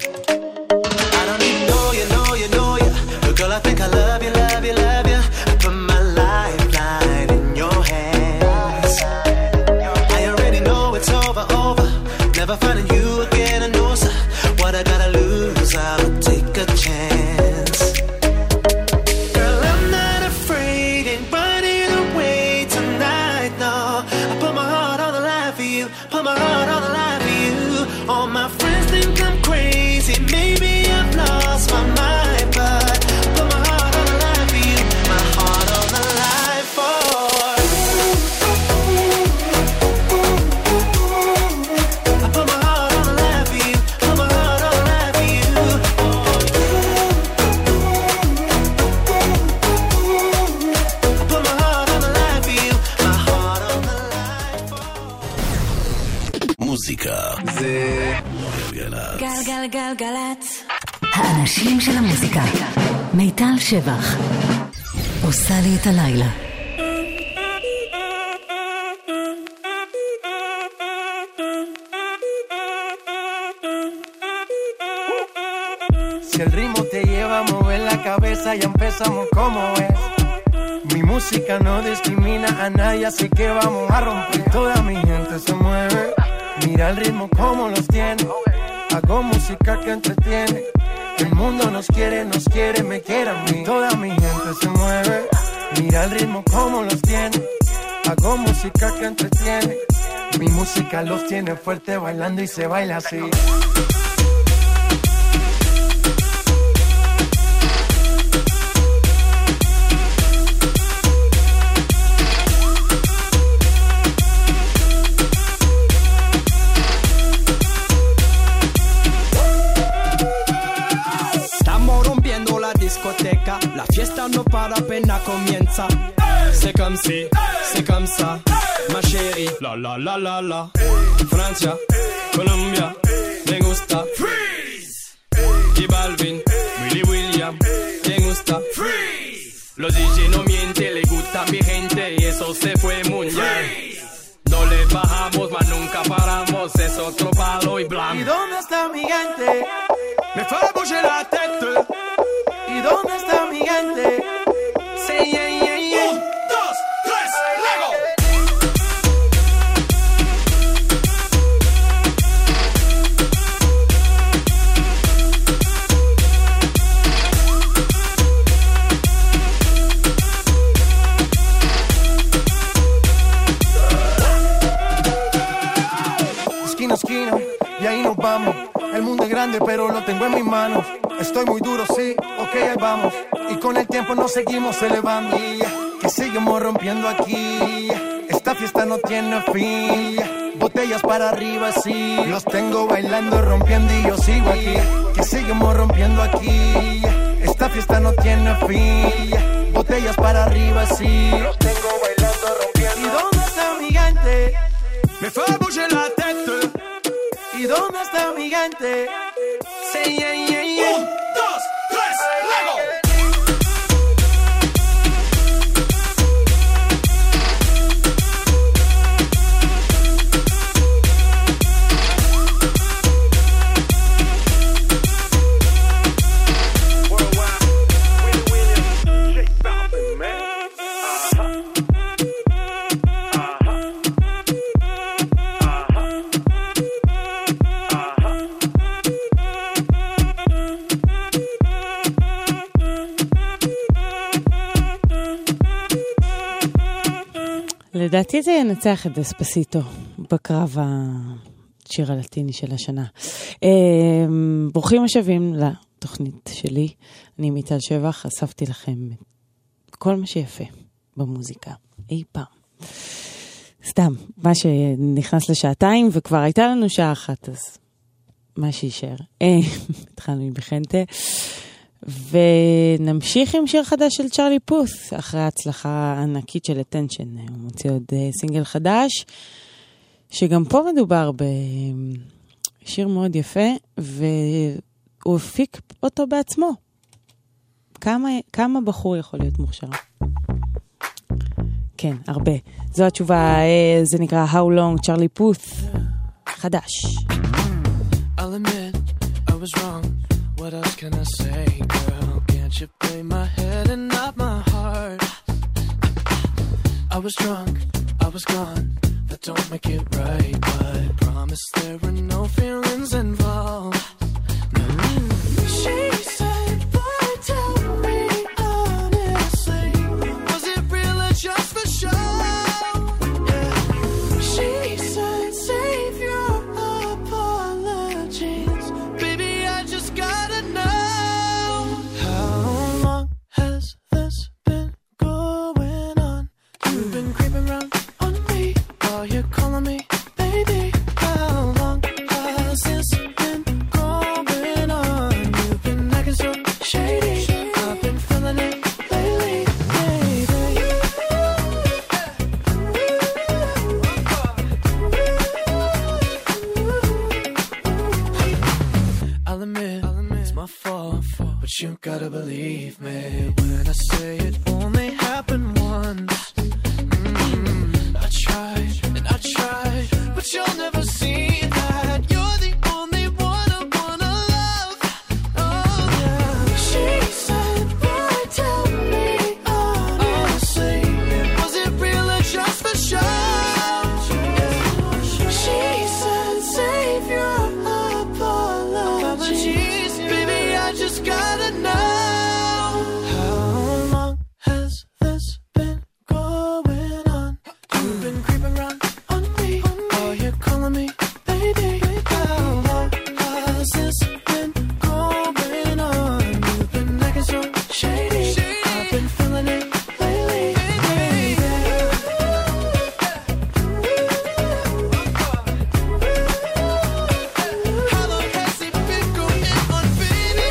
Girl, I think I love you, love you, love you. I put my lifeline in your hands. I already know it's over, over. Never finding you again, I know, sir. What I gotta lose, I'll take a chance. Girl, I'm not afraid, ain't running away tonight, no. I put my heart on the line for you, put my heart on the line for you. All my friends think I'm crazy, maybe I've lost my mind, but מוזיקה זה גלגלצ. גלגלגלגלצ. האנשים של המוזיקה. מיטל שבח עושה לי את הלילה. Si el ritmo te lleva a mover la cabeza, ya empezamos como es. Mi música no discrimina a nadie, así que vamos a romper. Toda mi gente se mueve. Mira el ritmo como los tiene. Hago música que entretiene. El mundo nos quiere, nos quiere, me quiere a mí. Toda mi gente se mueve. Mira el ritmo como los tiene. Hago música que entretiene. Mi música los tiene fuerte bailando y se baila así. La fiesta no para, apenas comienza. C'est comme si, c'est comme ça, ma chérie. La la la la la. Francia, Colombia, me gusta. Freeze. Y Balvin, Willy William, me gusta. Freeze. Los D J no mienten, le gusta a mi gente y eso se fue muy bien. No le bajamos, mas nunca paramos, es otro palo y blanco. ¿Y dónde está mi gente? Me fait bouger la tête. ¿Y dónde está mi gente? Sí, yeah, yeah, yeah. Un, dos, tres, luego. Esquina a esquina, y ahí nos vamos. El mundo es grande, pero lo tengo en mis manos. Estoy muy duro, sí, ok, ahí vamos. Y con el tiempo nos seguimos elevando. Que seguimos rompiendo aquí. Esta fiesta no tiene fin. Botellas para arriba, sí. Los tengo bailando, rompiendo y yo sigo aquí. Que seguimos rompiendo aquí. Esta fiesta no tiene fin. botellas para arriba, sí. Los tengo bailando, rompiendo. ¿Y dónde está mi gente? Me fait bouger la tête. ¿Y dónde está mi gente? Say yeah, yeah, yeah. Un, dos, tres, Lego. לדעתי זה ינצח את דספסיטו בקרב השיר הלטיני של השנה. ברוכים השבים לתוכנית שלי. אני מיטל שבח, אספתי לכם כל מה שיפה במוזיקה אי פעם. סתם, מה שנכנס לשעתיים וכבר הייתה לנו שעה אחת, אז מה שישאר. התחלנו בחנטה. ונמשיך עם שיר חדש של צ'רלי פות' אחרי ההצלחה הענקית של Attention. הוא מוציא עוד סינגל חדש, שגם פה מדובר בשיר מאוד יפה, והוא הפיק אותו בעצמו. כמה, כמה בחור יכול להיות מוכשר? כן, הרבה. זו התשובה, זה נקרא How Long, צ'רלי פות' חדש. I'll admit I was wrong. What else can I say, girl? Can't you play my head and not my heart? I was drunk, I was gone. That don't make it right, but promise there were no feelings involved. Mm. She said, boy, tell me honestly, was it real or just for show? Yeah. She said, save your apologies. Baby, I just got you gotta believe me when I say it only happened once. Mm-hmm. I tried and I tried, but you'll never see that. You're the only one I wanna love. Oh yeah. She said, boy, tell me honestly, was it real or just for show? She said, save your apologies. Baby, I just gotta know. How long has this been going on? You've been creeping around on me. Are you calling me baby? How long has this been going on? You've been acting so shady. I've been feeling it lately, baby. How long has it been going on, baby?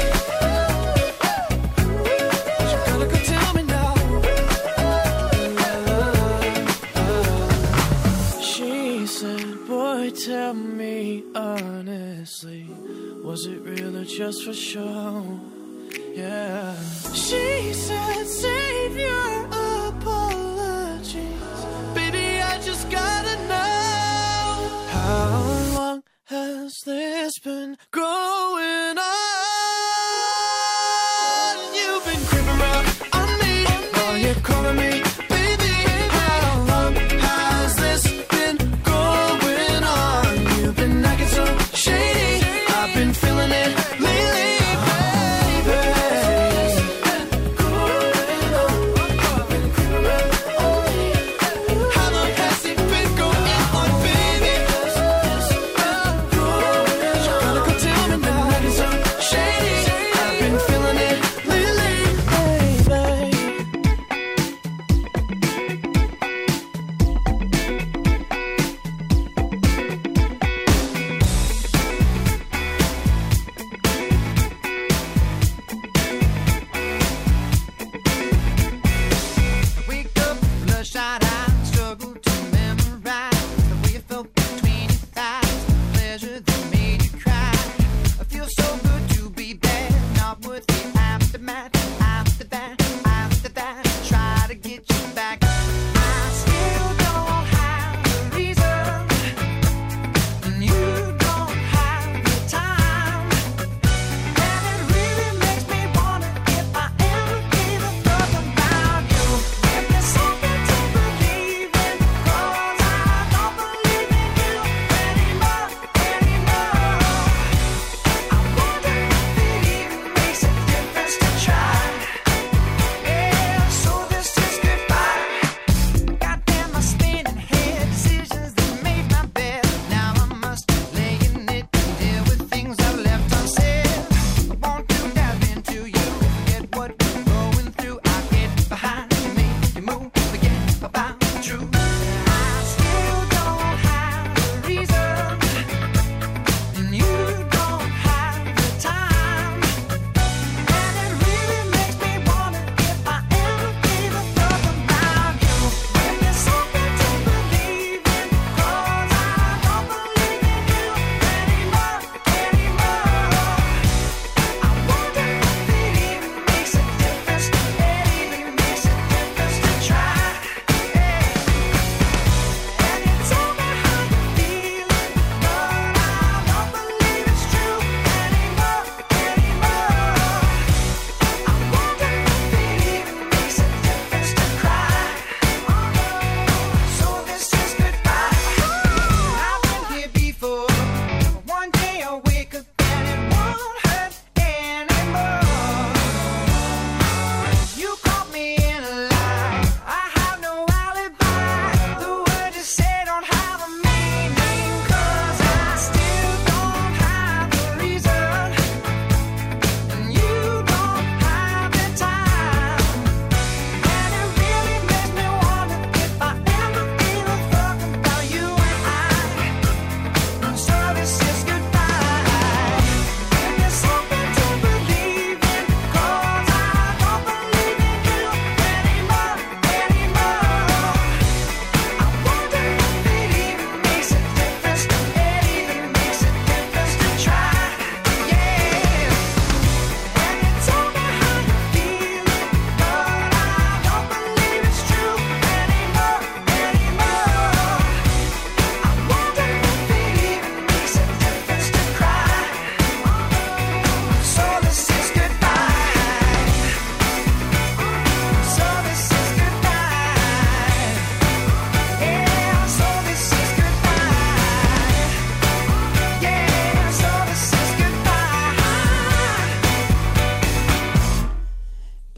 You gotta go tell me now. She said, boy, tell me honestly, was it real or just for show? Yeah. She said, save your apologies. Baby, I just gotta know. How long has this been going on? You've been creeping around on me. Are you calling me baby? How long has this been going on? You've been acting so shady. I've been feeling it lately, baby. How long has it been going on, baby? You gotta go tell me.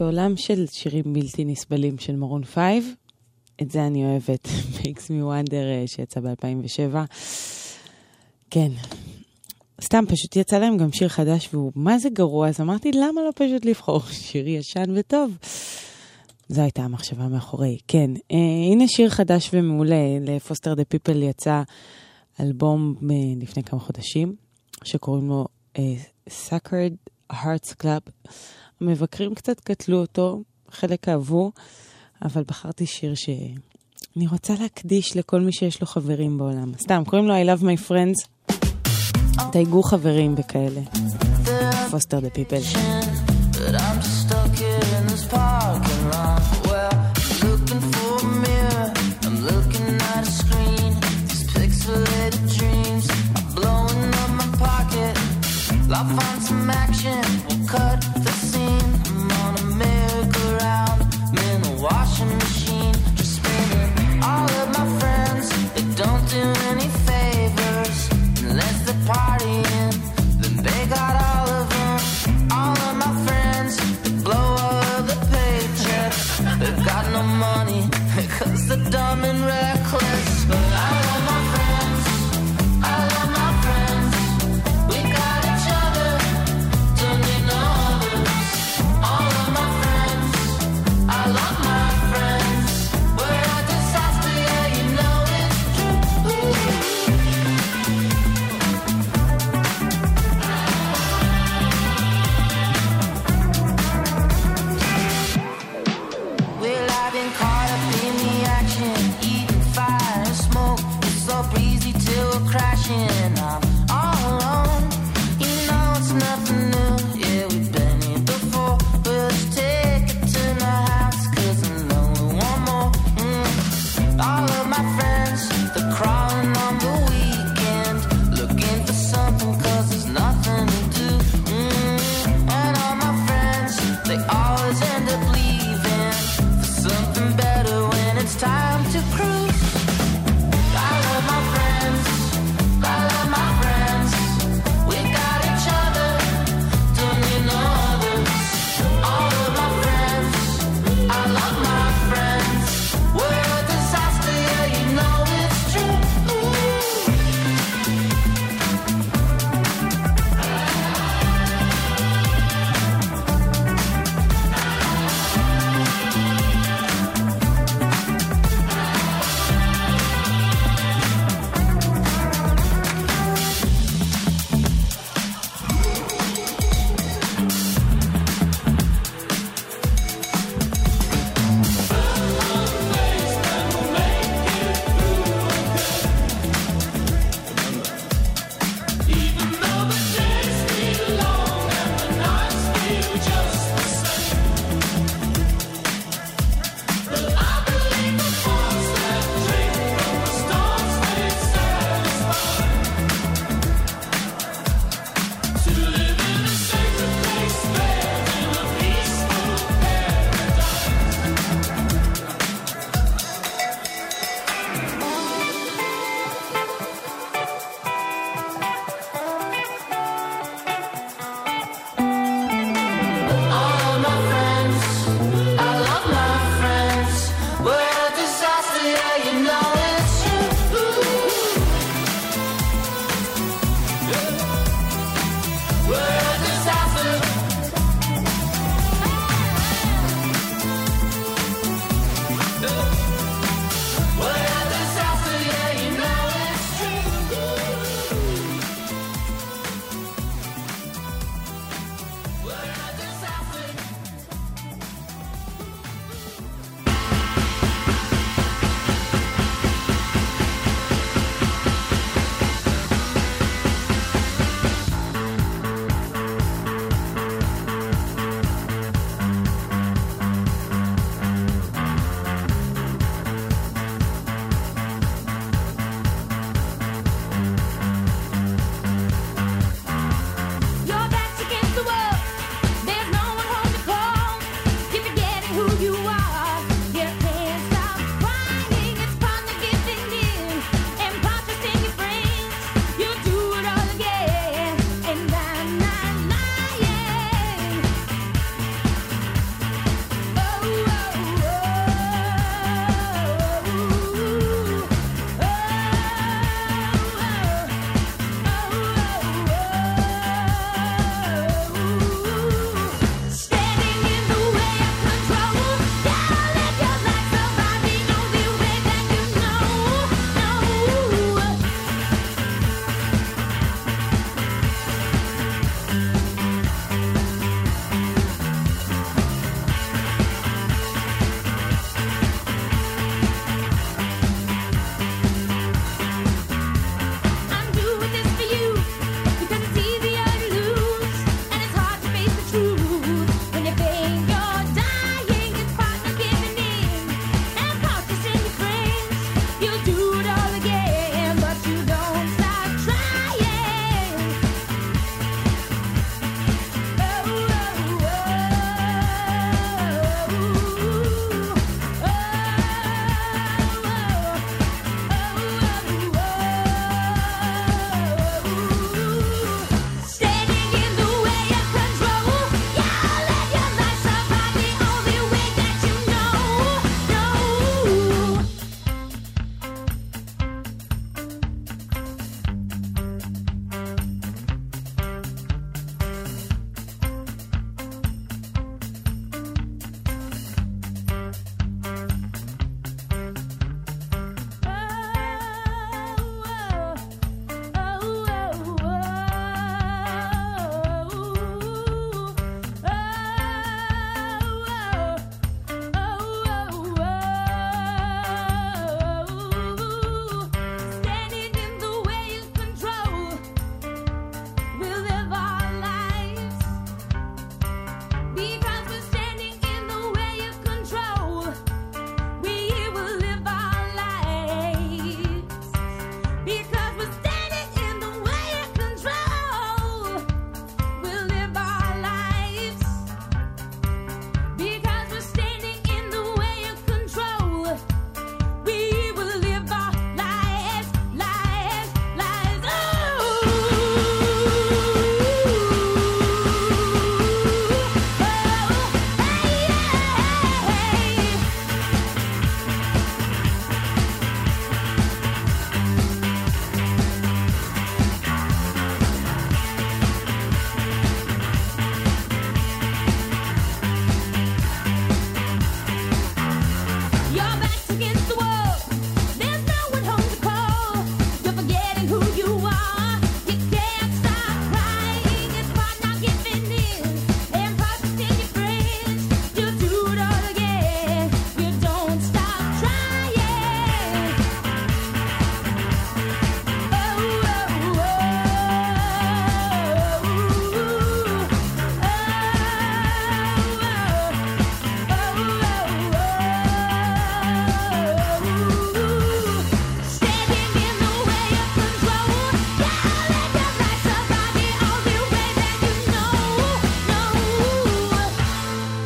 בעולם של שירים בלתי נסבלים של מרון פייב, את זה אני אוהבת, Makes Me Wonder שיצא ב-אלפיים ושבע. כן, סתם פשוט יצא להם גם שיר חדש והוא מה זה גרוע, אז אמרתי למה לא פשוט לבחור שיר ישן וטוב. זו הייתה המחשבה מאחורי. כן, אה, הנה שיר חדש ומעולה, לפוסטר דה פיפל יצא אלבום לפני כמה חודשים, שקוראים לו אה, Sacred Hearts Club. המבקרים קצת קטלו אותו, חלק אהבו, אבל בחרתי שיר שאני רוצה להקדיש לכל מי שיש לו חברים בעולם. סתם, קוראים לו I Love My Friends. תייגו חברים וכאלה. פוסטר דה פיפל. But I'm just stuck here in this parking lot. Well, I'm looking for a mirror, I'm looking at a screen. These pixelated dreams are blowing up my pocket. I'll find some action, we'll cut the scene. I'm on a merry-go-round, I'm in a washing machine, just spinning. All of my friends, they don't do any favors unless they're partying, then they got all of them. All of my friends, they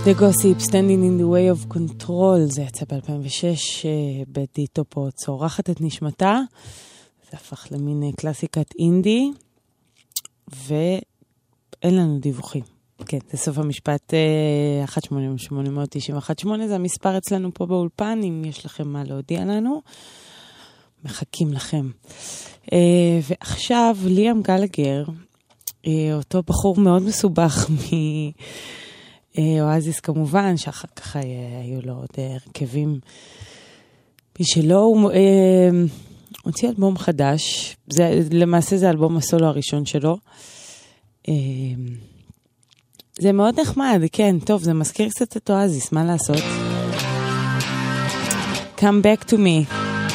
The Gossip, Standing in the Way of Control, זה יצא ב-אלפיים ושש, בדי טופו צורחת את נשמתה, זה הפך למין קלאסיקת אינדי, ואין לנו דיווחים. כן, זה סוף המשפט אחת שמונה שמונה תשע אחת שמונה, זה המספר אצלנו פה באולפן, אם יש לכם מה להודיע לנו, מחכים לכם. ועכשיו, ליאם גלגר, אותו בחור מאוד מסובך מ... אואזיס כמובן, שאחר כך היו לו עוד הרכבים משלו, הוא הוציא אלבום חדש, זה, למעשה זה אלבום הסולו הראשון שלו, זה מאוד נחמד, כן, טוב, זה מזכיר קצת את אואזיס, מה לעשות? Come back to me.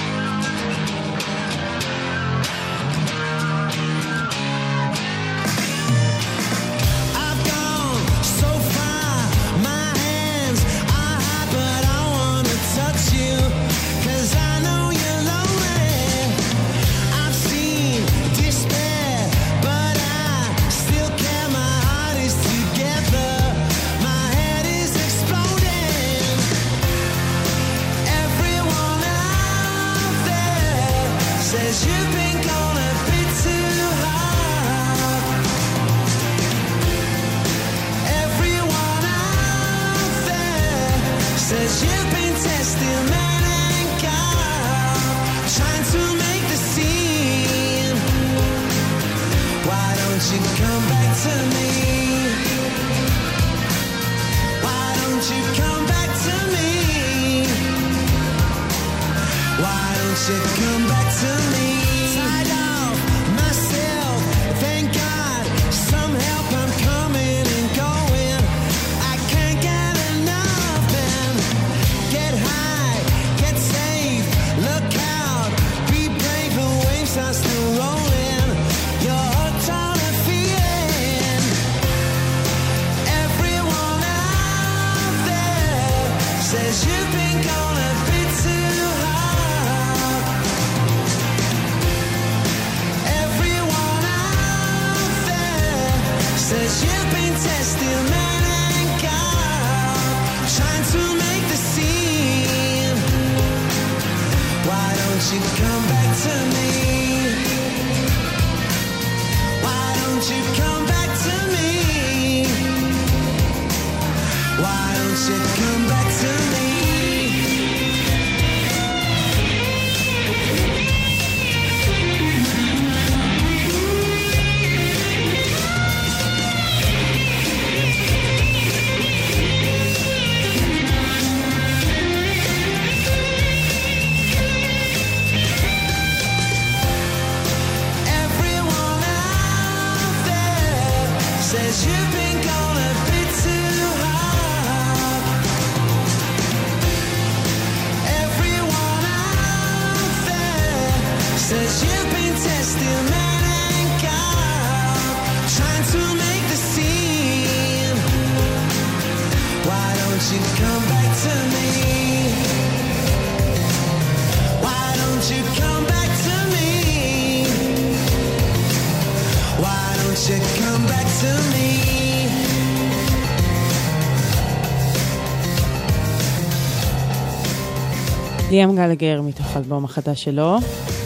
ליאם גלגר מתוך האלבום החדש שלו,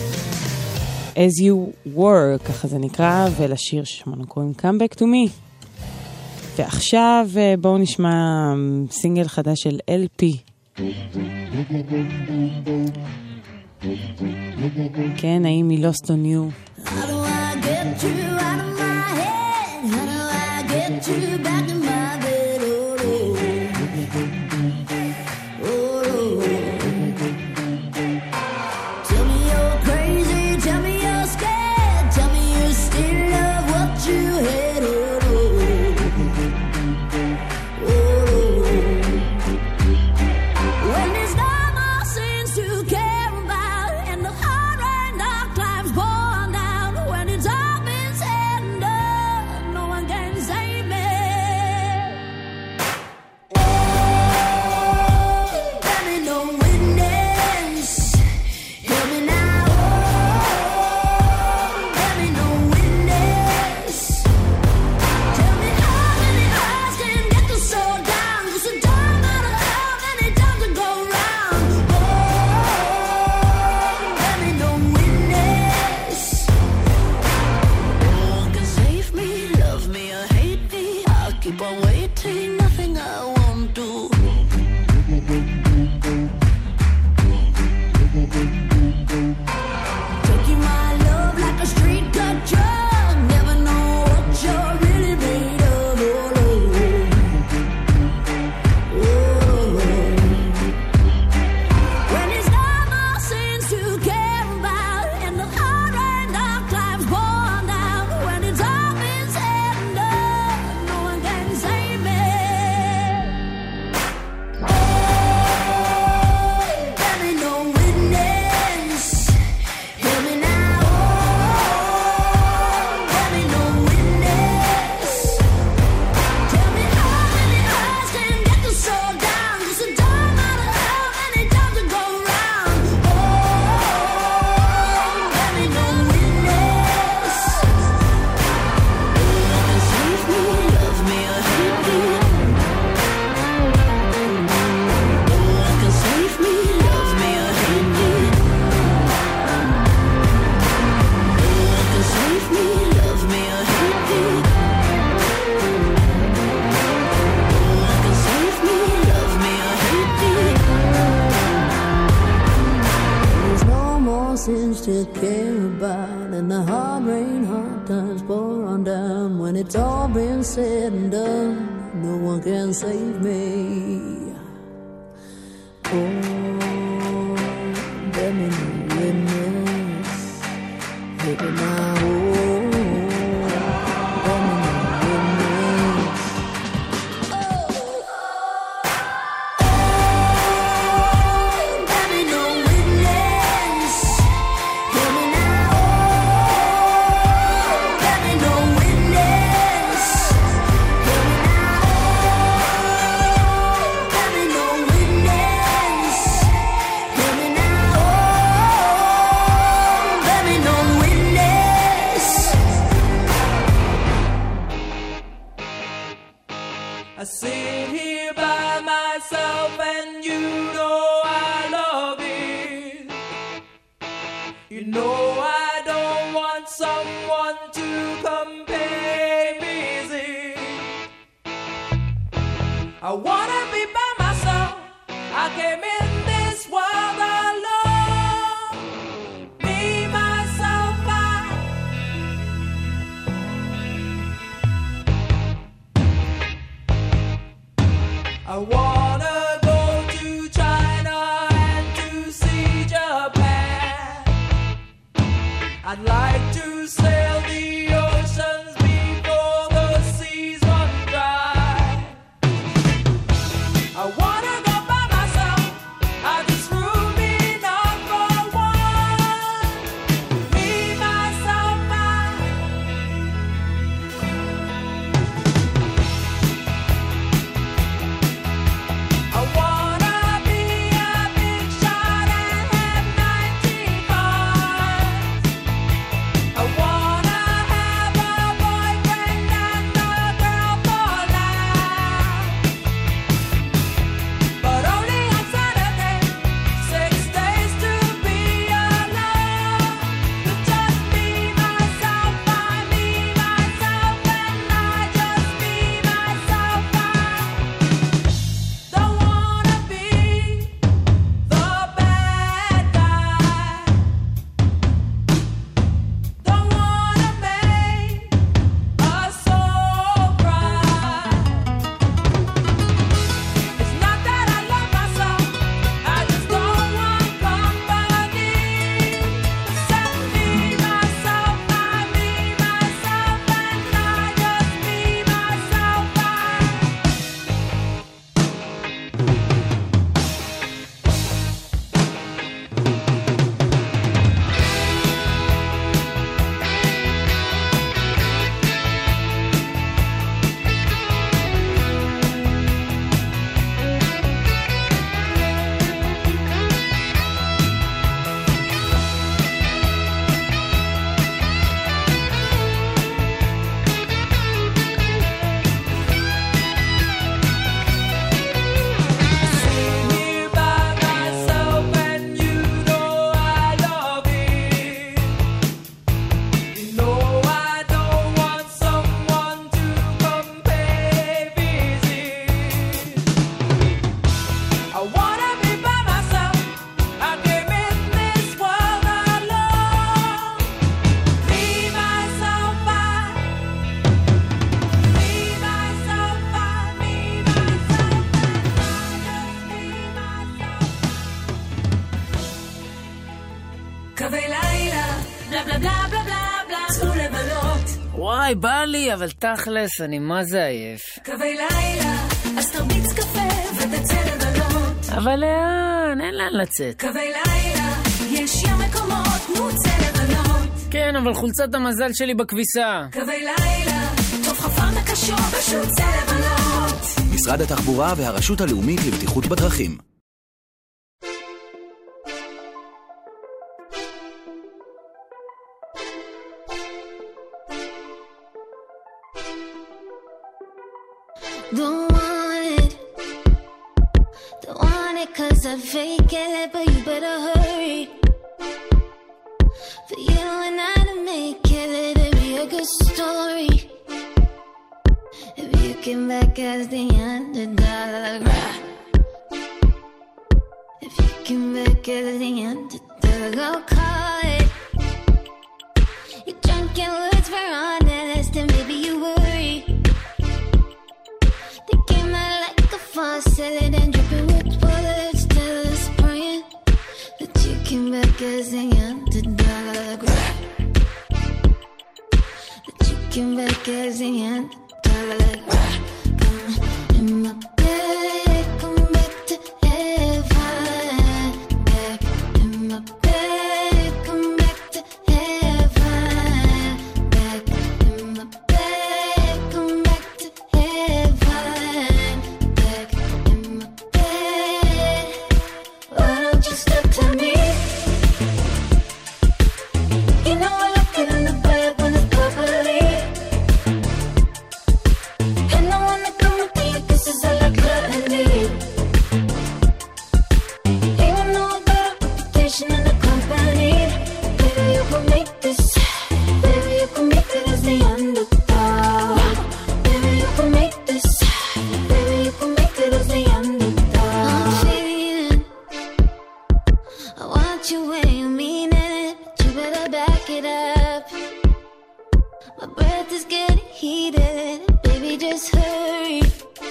As You Were, ככה זה נקרא, ולשיר ששמענו קוראים Come Back to Me. ועכשיו בואו נשמע סינגל חדש של אל פי. כן, האם היא Lost on You? How do I get you out of my head? How do I get you back in my bed? Oh, oh. When it's all been said and done, no one can save me. promises to care about, and the hard rain, hard times pour on down. When it's all been said and done, no one can save me. Oh, bear me no witness, hit me now. I sit here by myself and you know I love it. You know I don't want someone to come pay visit. I wanna be by myself. I came in this world alone. Me, myself, I. I wanna go to China and to see Japan. I'd like to sail the oceans before the seas run dry. I wanna go by myself. I just room enough for one. Me, myself, I. I wanna be a big shot and have nineteen bars. I wanna have a boyfriend and a girl for life. But only on Saturday, six days to be alone. With just me, myself, I, me, myself, and I. Just me, myself, I. Don't wanna be the bad guy. Don't wanna make us all cry. It's not that I love myself, I just don't want company. Except me, myself, I, me, myself, and I. Just me, myself, I. Sit here by myself and you know I love it. You know I don't want someone to come pay visit. I wanna be by myself. I came in this world alone. Me, myself, I. Me, myself, I. Me, myself, קווי לילה, בלה בלה בלה בלה בלה בלה, צאו לבלות. וואי, בא לי, אבל תכלס, אני מה זה עייף. קווי לילה, אז תרביץ קפה ותצא לבלות. אבל לאן? אין לאן לצאת. קווי לילה, יש ים מקומות, נו צא לבלות. כן, אבל חולצת המזל שלי בכביסה. קווי לילה, טוב חפרת הקשור, פשוט צא לבלות. משרד התחבורה והרשות הלאומית לבטיחות בדרכים. Don't want it, don't want it cause I fake it, but you better hurry. For you and I to make it, let it be a good story. If you came back as the underdog, if you came back as the underdog, I'll call came back as the underdog. That you came back as the underdog. Come in my bed, come back to heaven. Back in my bed, come back to heaven. Back in my bed, come back to heaven. Back in my bed. Why don't you step to me? You know I look it in the bed when it's bubbly. And I wanna come with you, kisses I like gluttony. Even though I got a reputation in the company, baby you can make this. Baby you can make it as the underdog. Baby you can make this. Baby you can make it as the underdog. I'm feeling, I want you when you mean it, but you better back it up. My breath is getting heated, baby just hurry.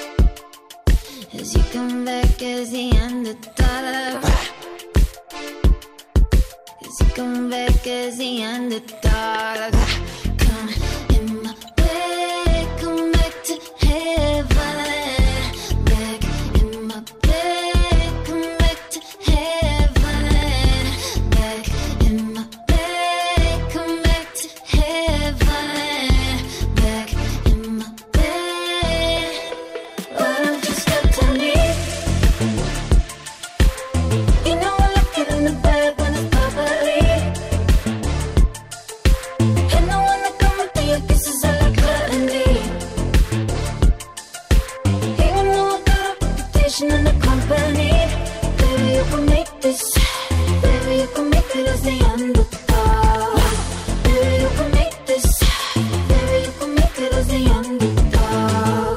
As you come back as the underdog. As you come back as the underdog. Come in my bed, come back to heaven. Back in my bed, come back to heaven. Back in my bed, come back to heaven. Back in my bed. Why don't you step to me? You know I look it in the bed when it's bubbly. And I wanna come with you, kisses I like gluttony. Even though I got a reputation in the company, baby you can make this. Baby you can make it as the underdog. Baby you can make this. Baby you can make it as the underdog.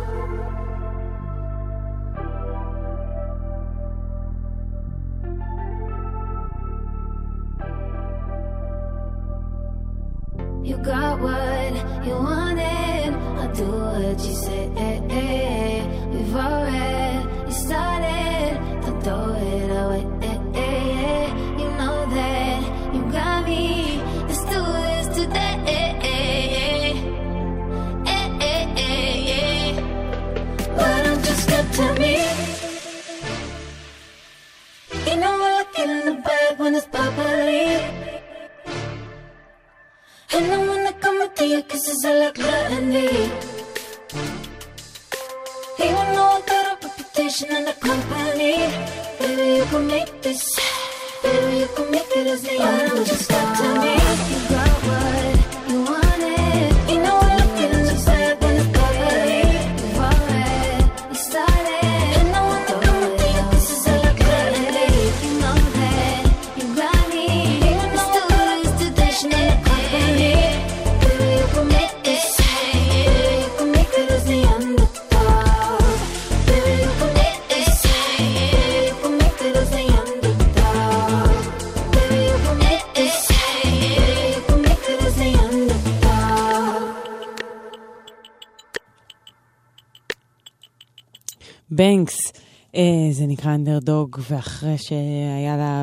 You got what you wanted, I'll do what you say. We've already started, don't throw it away. You know that you got me, let's do this today. Why don't you step to me? You know I look it in the bed when it's bubbly. And I wanna come with you, kisses I like gluttony. Even though I got a reputation in the company, baby you can make this. Baby you can make it as the underdog. Just step to me. You got what you wanted. You know I look it in the bed when it's bubbly. We've already started. And I wanna come with you, kisses I like gluttony. You know that you got me. Even though I got a reputation in the company, baby you can make this. Baby you can make it as the underdog. Baby you can make this. Baby you can make it as the underdog. Baby you can make this. Baby you can make it as the underdog. בנקס, אה, זה נקרא אנדרדוג, ואחרי שהיה לה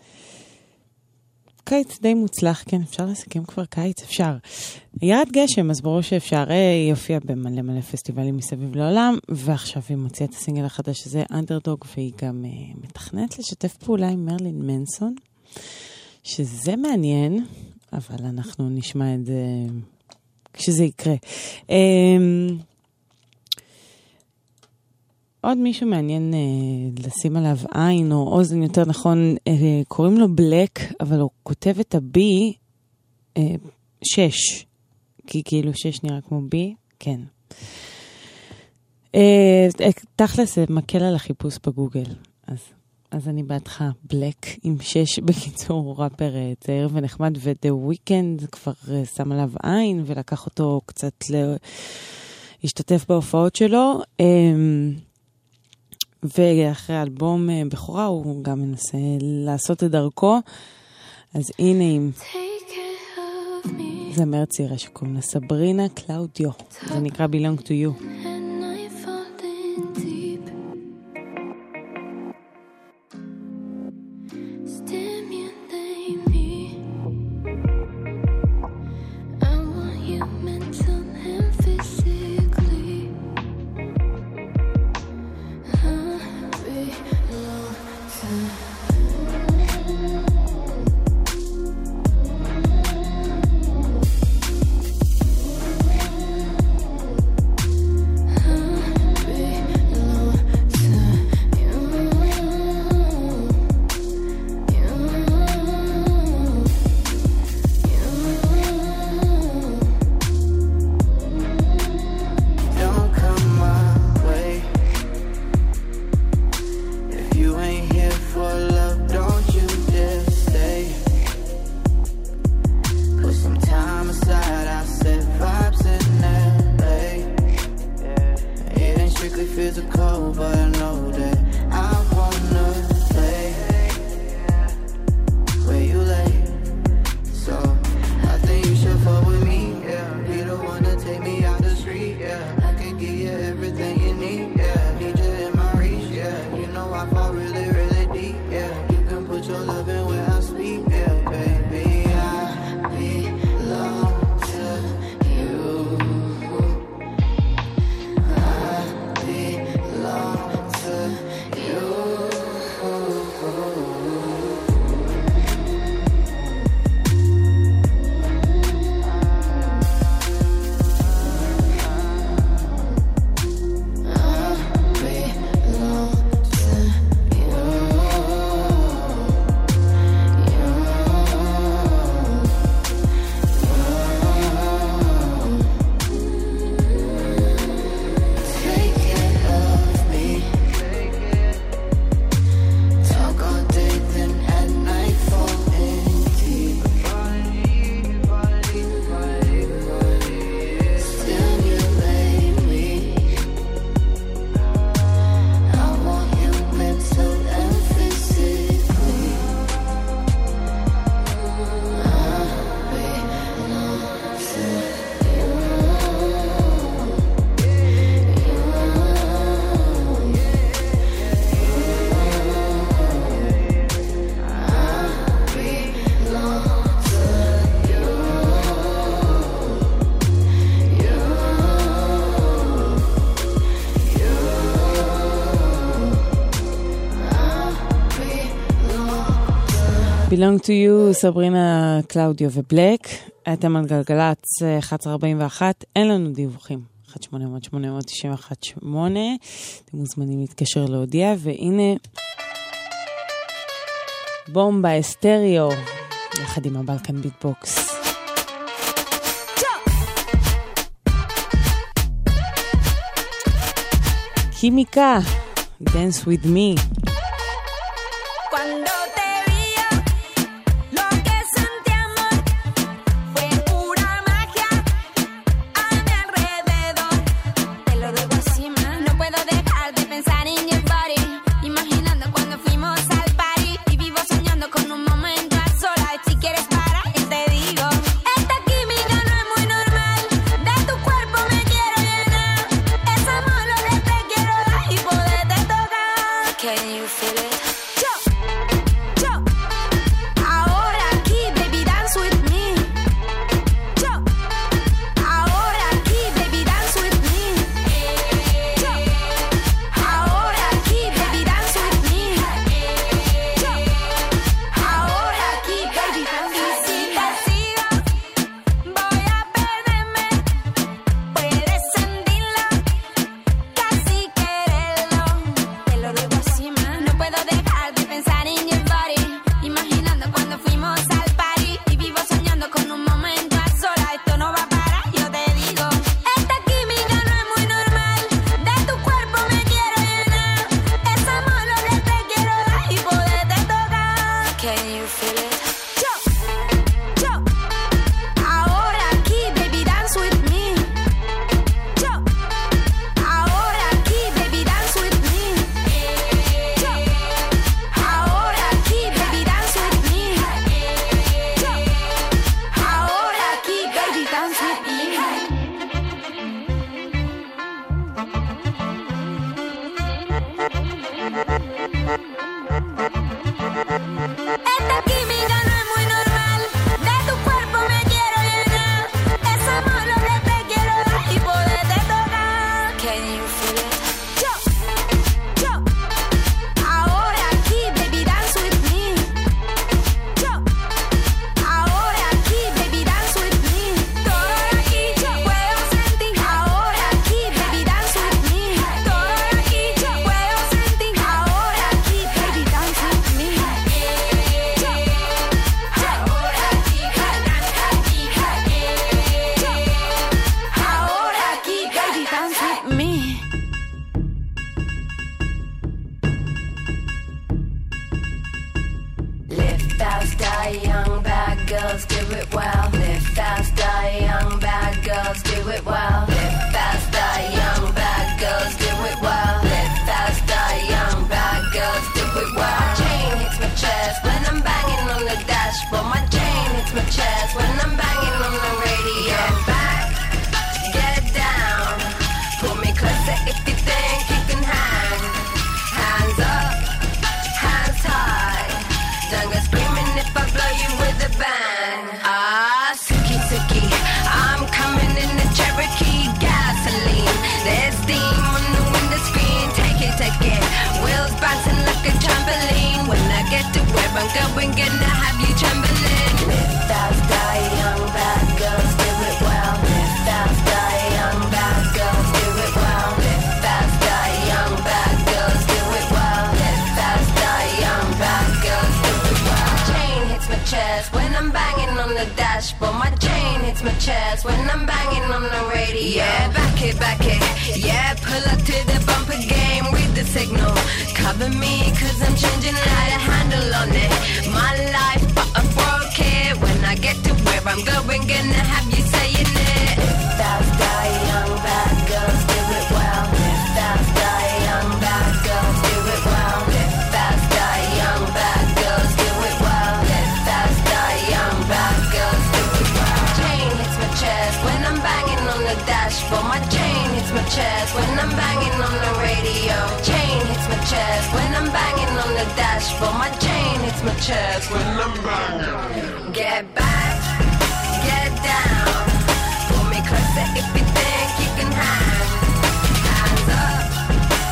קיץ די מוצלח, כן, אפשר לסכם כבר קיץ, אפשר. ירד גשם, אז ברור שאפשר, היא הופיעה במלא מלא פסטיבלים מסביב לעולם, ועכשיו היא מוציאה את הסינגל החדש, שזה אנדרדוג, והיא גם אה, מתכנת לשתף פעולה עם מרלין מנסון, שזה מעניין, אבל אנחנו נשמע את זה כשזה יקרה. אה, עוד מישהו מעניין אה, לשים עליו עין או אוזן, יותר נכון, אה, קוראים לו בלק, אבל הוא כותב את הבי אה, שש, כי כאילו שש נראה כמו בי, כן. אה, תכלס זה מקל על החיפוש בגוגל, אז, אז אני בעדך בלק עם שש, בקיצור ראפר אה, צעיר ונחמד, ו-The Weeknd כבר אה, שם עליו עין ולקח אותו קצת להשתתף בהופעות שלו, אה, ואחרי אלבום בכורה הוא גם מנסה לעשות את דרכו, אז הנה עם זמרת צעירה שקוראים לה סברינה קלאודיו, זה נקרא Belong to You. Stand Belong to you, סברינה, קלאודיו ובלק. אתם על גלגלץ אחת עשרה ארבעים ואחת, אין לנו דיווחים. אחת שמונה אפס אפס שמונה תשע אחת שמונה, אתם מוזמנים להתקשר להודיע, והנה בומבה אסטריאו, יחד עם הבלקן ביטבוקס. קימיקה, dance with me. Cuando te vi yo, lo que sentí amor fue pura magia a mi alrededor. Te lo digo así, man, no puedo dejar de pensar en your body. Imaginando cuando fuimos al party y vivo soñando con un momento a solas. Si quieres parar, yo te digo, esta química no es muy normal. De tu cuerpo me quiero llenar. Es amor lo que te quiero dar y poderte tocar. Can you feel it?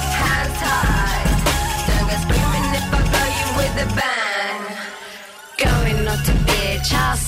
Go.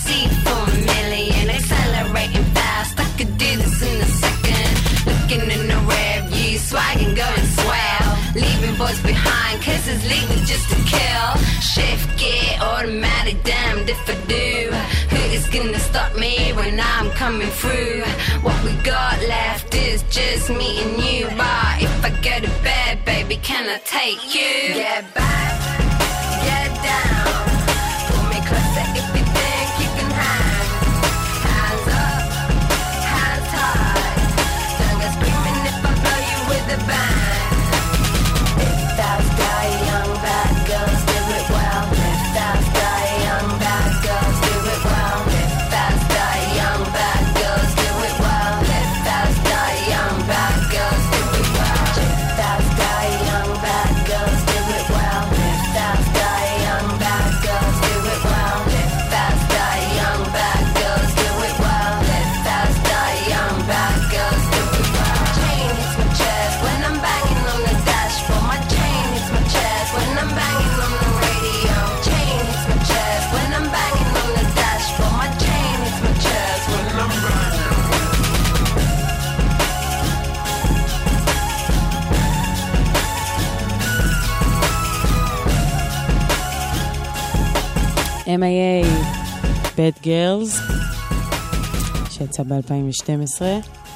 C for a million, accelerating fast. I could do this in a second. Looking in the rear view, swagging, going swell. Leaving boys behind, cause it's legal just to kill. Shift gear, automatic, damned if I do. Who is gonna stop me when I'm coming through? What we got left is just me and you. But if I go to bed, baby, can I take you? Get back, get down. Pull me closer if you think you can hang. Hands up, hands high. Don't go screaming if I blow you with a bang. If that's die, young bad girls do it well. If that's die, young bad girls do it well. If that's die, young bad girls do it well. If that's die, young bad girls do it well. If that's die, young bad girls do it well. If that's die, young bad girls do it well. If that's die, young bad girls do it well. If that's die, young bad girls do it well. Chain hits my chest when I'm banging on the dashboard. My chain hits my chest when I'm banging on the radio. Chain hits my chest when I'm banging on the dashboard. My chain hits my chest when I'm banging. M I A Bad Girls שיצא ב-אלפיים ושתים עשרה,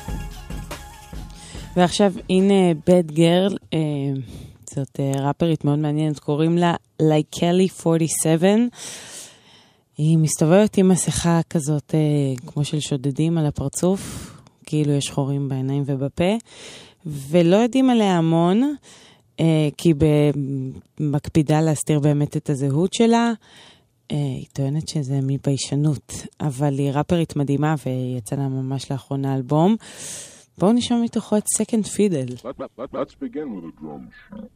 ועכשיו הנה Bad Girl, אה, זאת אה, ראפרית מאוד מעניינת, קוראים לה לייקלי ארבעים ושבע. היא מסתובבת עם מסכה כזאת אה, כמו של שודדים על הפרצוף, כאילו יש חורים בעיניים ובפה, ולא יודעים עליה המון, אה, כי היא מקפידה להסתיר באמת את הזהות שלה. היא טוענת שזה מביישנות, אבל היא ראפרית מדהימה ויצא לה ממש לאחרונה אלבום. בואו נשמע מתוכו את Second Fiddle. Let, let, let's begin with a drum sheet.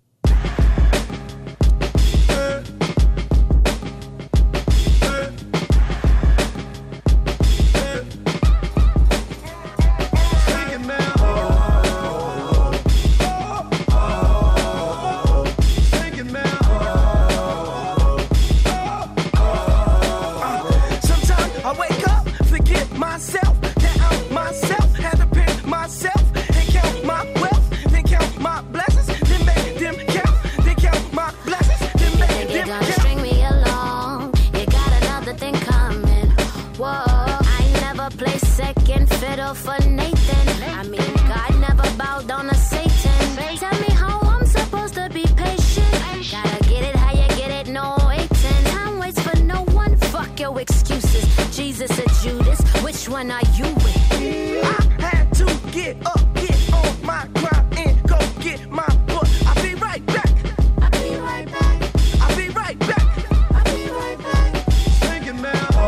Myself, that I'm myself, had to pick myself and count my wealth, then count my blessings, then make them count, then count my blessings, then make them count. String me along, you got another thing coming. Whoa, I never play second fiddle for Nathan. I mean, God never bowed down to Satan. Tell me how I'm supposed to be patient. Gotta get it how you get it, no waiting. Time waits for no one, fuck your excuses. Jesus or Judas, which one are you with? I had to get up, get on my grind, and go get my book. I'll be right back. I'll be right back. I'll be right back. I'll be right back. Sing it now. Oh,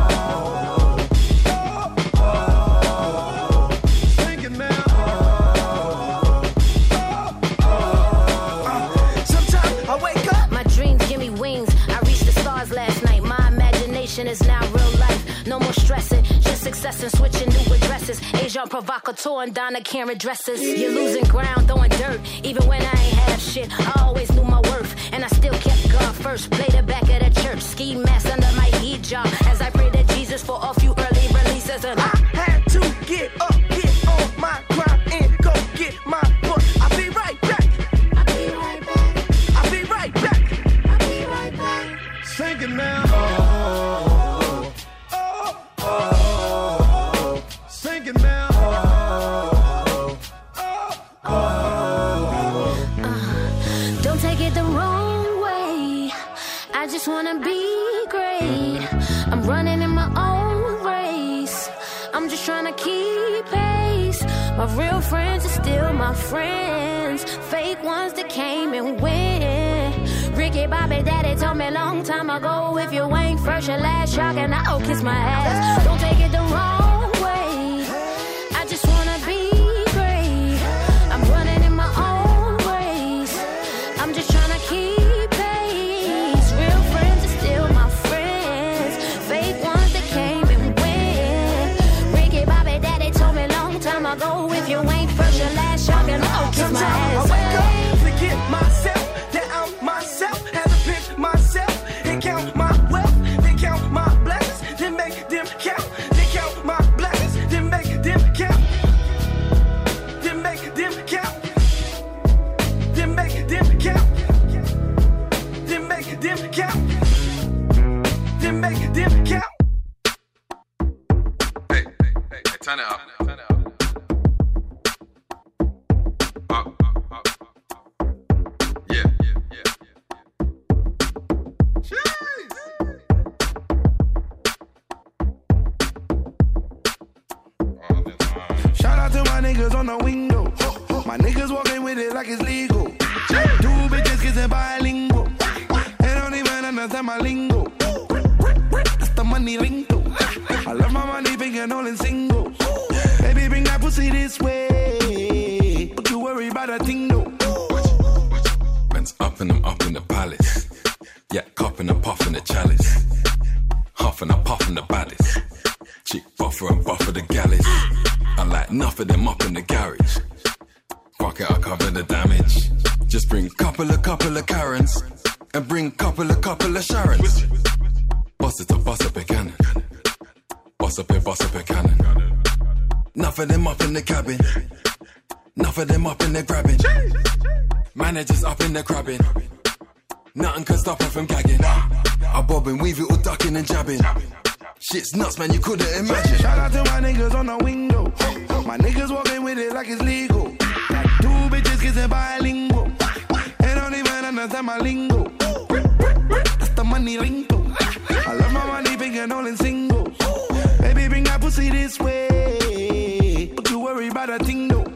oh, oh. Sing it now. Oh, oh, oh. Sometimes I wake up. My dreams give me wings. I reached the stars last night. My imagination is now real life. No more stressing, just success and switching new addresses. Agent provocateur and Donna Karen dresses. You're losing ground, throwing dirt. Even when I ain't have shit, I always knew my worth. And I still kept God first. Played the back of the church. Ski mask under my hijab. As I pray to Jesus for a few early releases. And I had to get up, get on my grind, and go get my book. I'll be right back. I'll be right back. I'll be right back. I'll be right back. Sing it now. Oh, oh, oh. Sing it now. Oh, oh, oh. Uh, don't take it the wrong way. I just wanna be great. I'm running in my own race. I'm just trying to keep pace. My real friends are still my friends. Fake ones that came and went. Ricky Bobby Daddy told me a long time ago, if you ain't first, your last, y'all can I'll kiss my ass. Don't take it the wrong way. I just wanna be great. I'm running in my own race. I'm just trying to keep pace. Real friends are still my friends. Fake ones that came and went. Ricky Bobby Daddy told me a long time ago, if you ain't first, your last, y'all can I'll kiss my ass. I wake up, forget myself, that I'm myself. Had to pick myself and count my wealth, then count my blessings, then make it dip count. Hey, hey, hey, hey, turn it up. Turn it up. Up, up, up, up. Yeah, yeah, yeah, yeah. Jeez. Shout out to my niggas on the window. My niggas walking with it like it's legal. Two bitches kissing bilingual. They don't even understand my lingo. That's the money lingo. I love my money finger all in singles. Baby, bring that pussy this way. Don't you worry about a thing though. Man's up and I'm up in the palace. Yeah, cupping and puffing the chalice. Huffing and puffing the baddest. Chick buffer and buffer the galleys. I like enough of them up in the garage. Fuck it, I cover the damage. Just bring couple of couple of Karens and bring couple of couple of Sharons. Bust it up, bust up a cannon. Bust up a bust up a cannon. Enough of them up in the cabin. Enough of them up in the grabbing. Managers up in the crabbing. Nothing can stop her from gagging. I bob and weave it all ducking and jabbing. Shit's nuts, man, you couldn't imagine. Shout out to my niggas on the window. My niggas walking with it like it's legal. Two bitches kissing bilingual. They don't even understand my lingo. That's the money lingo. I love my money finger all in singles. Baby, bring that pussy this way. Don't you worry about a thing though.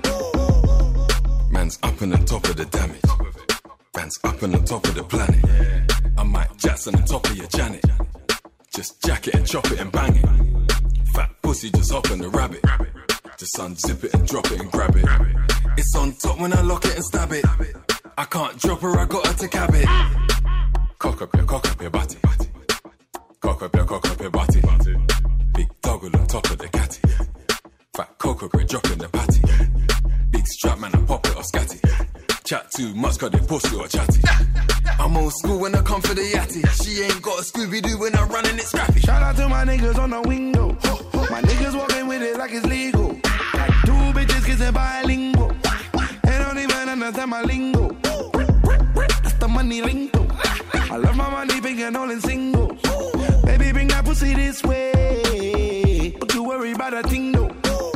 Man's up on the top of the damage. Man's up on the top of the planet. I might jazz on the top of your Janet. Just jack it and chop it and bang it. Fat pussy just hop on the rabbit. Just unzip it and drop it and grab it. It's on top when I lock it and stab it. I can't drop her, I got her to cab it. Cock up your, cock up your body. Cock up your, cock up your body. Big dog on top of the catty. Fat cock up, drop in the patty. Big strap man, I pop it or scatty. Chat too much, got the pussy or chatty. I'm old school when I come for the yatty. She ain't got a Scooby-Doo when I'm running it scrappy. Shout out to my niggas on the window. My niggas walking with it like it's legal. Two bitches kissing bilingual. They don't even understand my lingo. That's the money lingo. I love my money finger all in singles. Baby, bring that pussy this way. Don't you worry about a thing though.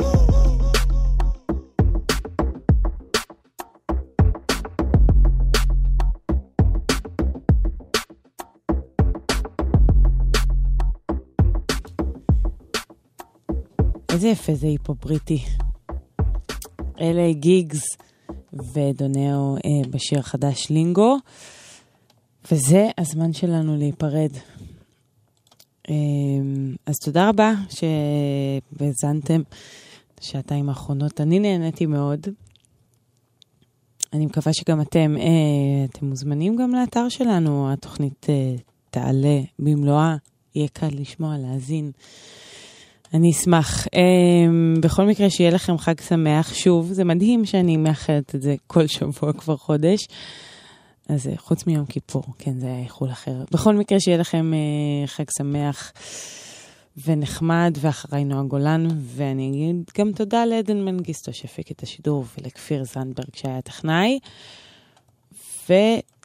איזה יפה זה היפו בריטי. אלה גיגס ודונאו אה, בשיר חדש לינגו, וזה הזמן שלנו להיפרד. אה, אז תודה רבה שבזנתם שעתיים האחרונות. אני נהניתי מאוד. אני מקווה שגם אתם, אה, אתם מוזמנים גם לאתר שלנו. התוכנית אה, תעלה במלואה, יהיה קל לשמוע, להזין. אני אשמח. Um, בכל מקרה שיהיה לכם חג שמח. שוב, זה מדהים שאני מאחלת את זה כל שבוע כבר חודש. אז חוץ מיום כיפור, כן, זה היה איחול אחר. בכל מקרה שיהיה לכם uh, חג שמח ונחמד, ואחריי נועה גולן, ואני אגיד גם תודה לעדן מנגיסטו שהפיק את השידור, ולכפיר זנדברג שהיה טכנאי. ו...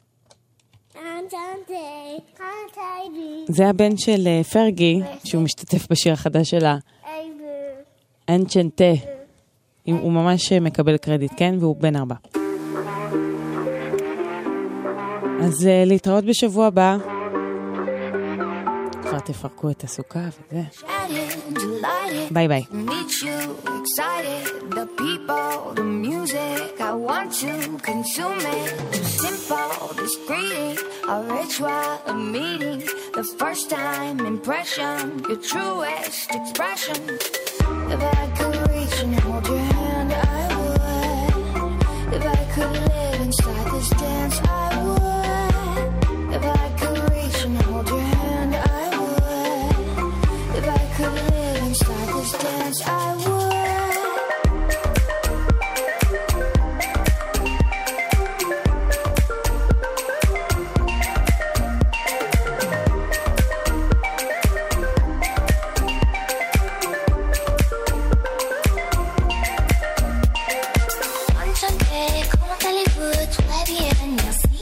זה הבן של פרגי, שהוא משתתף בשיר החדש שלה. אנצ'נטה. הוא ממש מקבל קרדיט, כן? והוא בן ארבע. אז להתראות בשבוע הבא. כבר תפרקו את הסוכה וזה. ביי ביי. The people, the music, I want to consume it. Too simple, discreet, a ritual, a meeting, the first time impression, your truest expression. If I could reach and hold your hand, I would. If I could live inside this dance, I would. If I could reach and hold your hand, I would. If I could live inside this dance, I would. Comment allez-vous? Tout va bien, merci.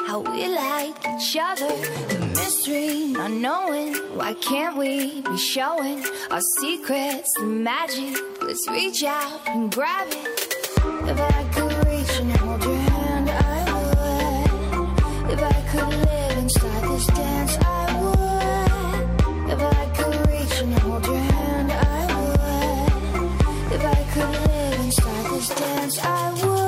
how we like each other. The mystery, not knowing, why can't we be showing our secrets, the magic? Let's reach out and grab it. If I could reach and hold your hand, I would. If I could live inside this dance, I would. If I could reach and hold your hand, I would. If I could live inside this dance, I would.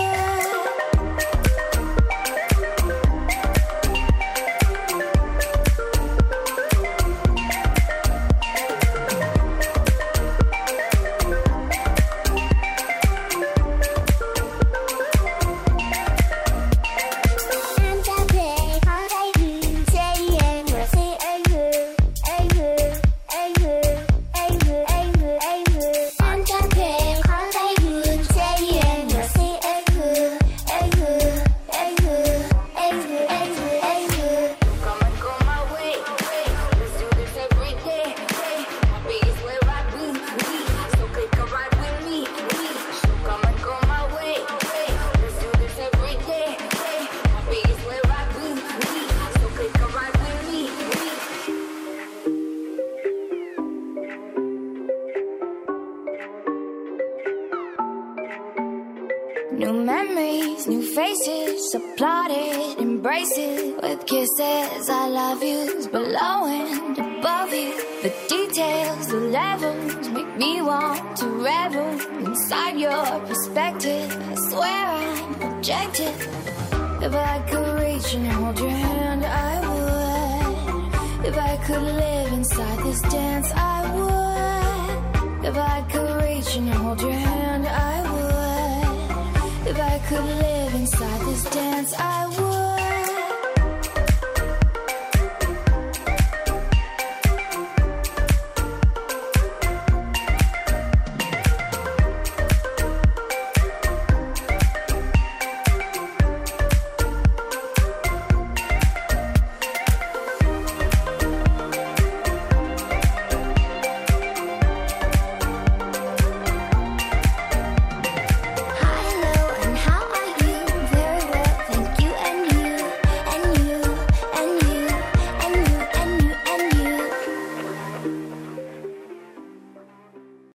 New memories, new faces, applauded, embrace it with kisses. I love yous below and above you. The details, the levels make me want to revel inside your perspective. I swear I'm objective. If I could reach and hold your hand, I would. If I could live inside this dance, I would. If I could reach and hold your hand, I would. If I could live inside this dance, I would.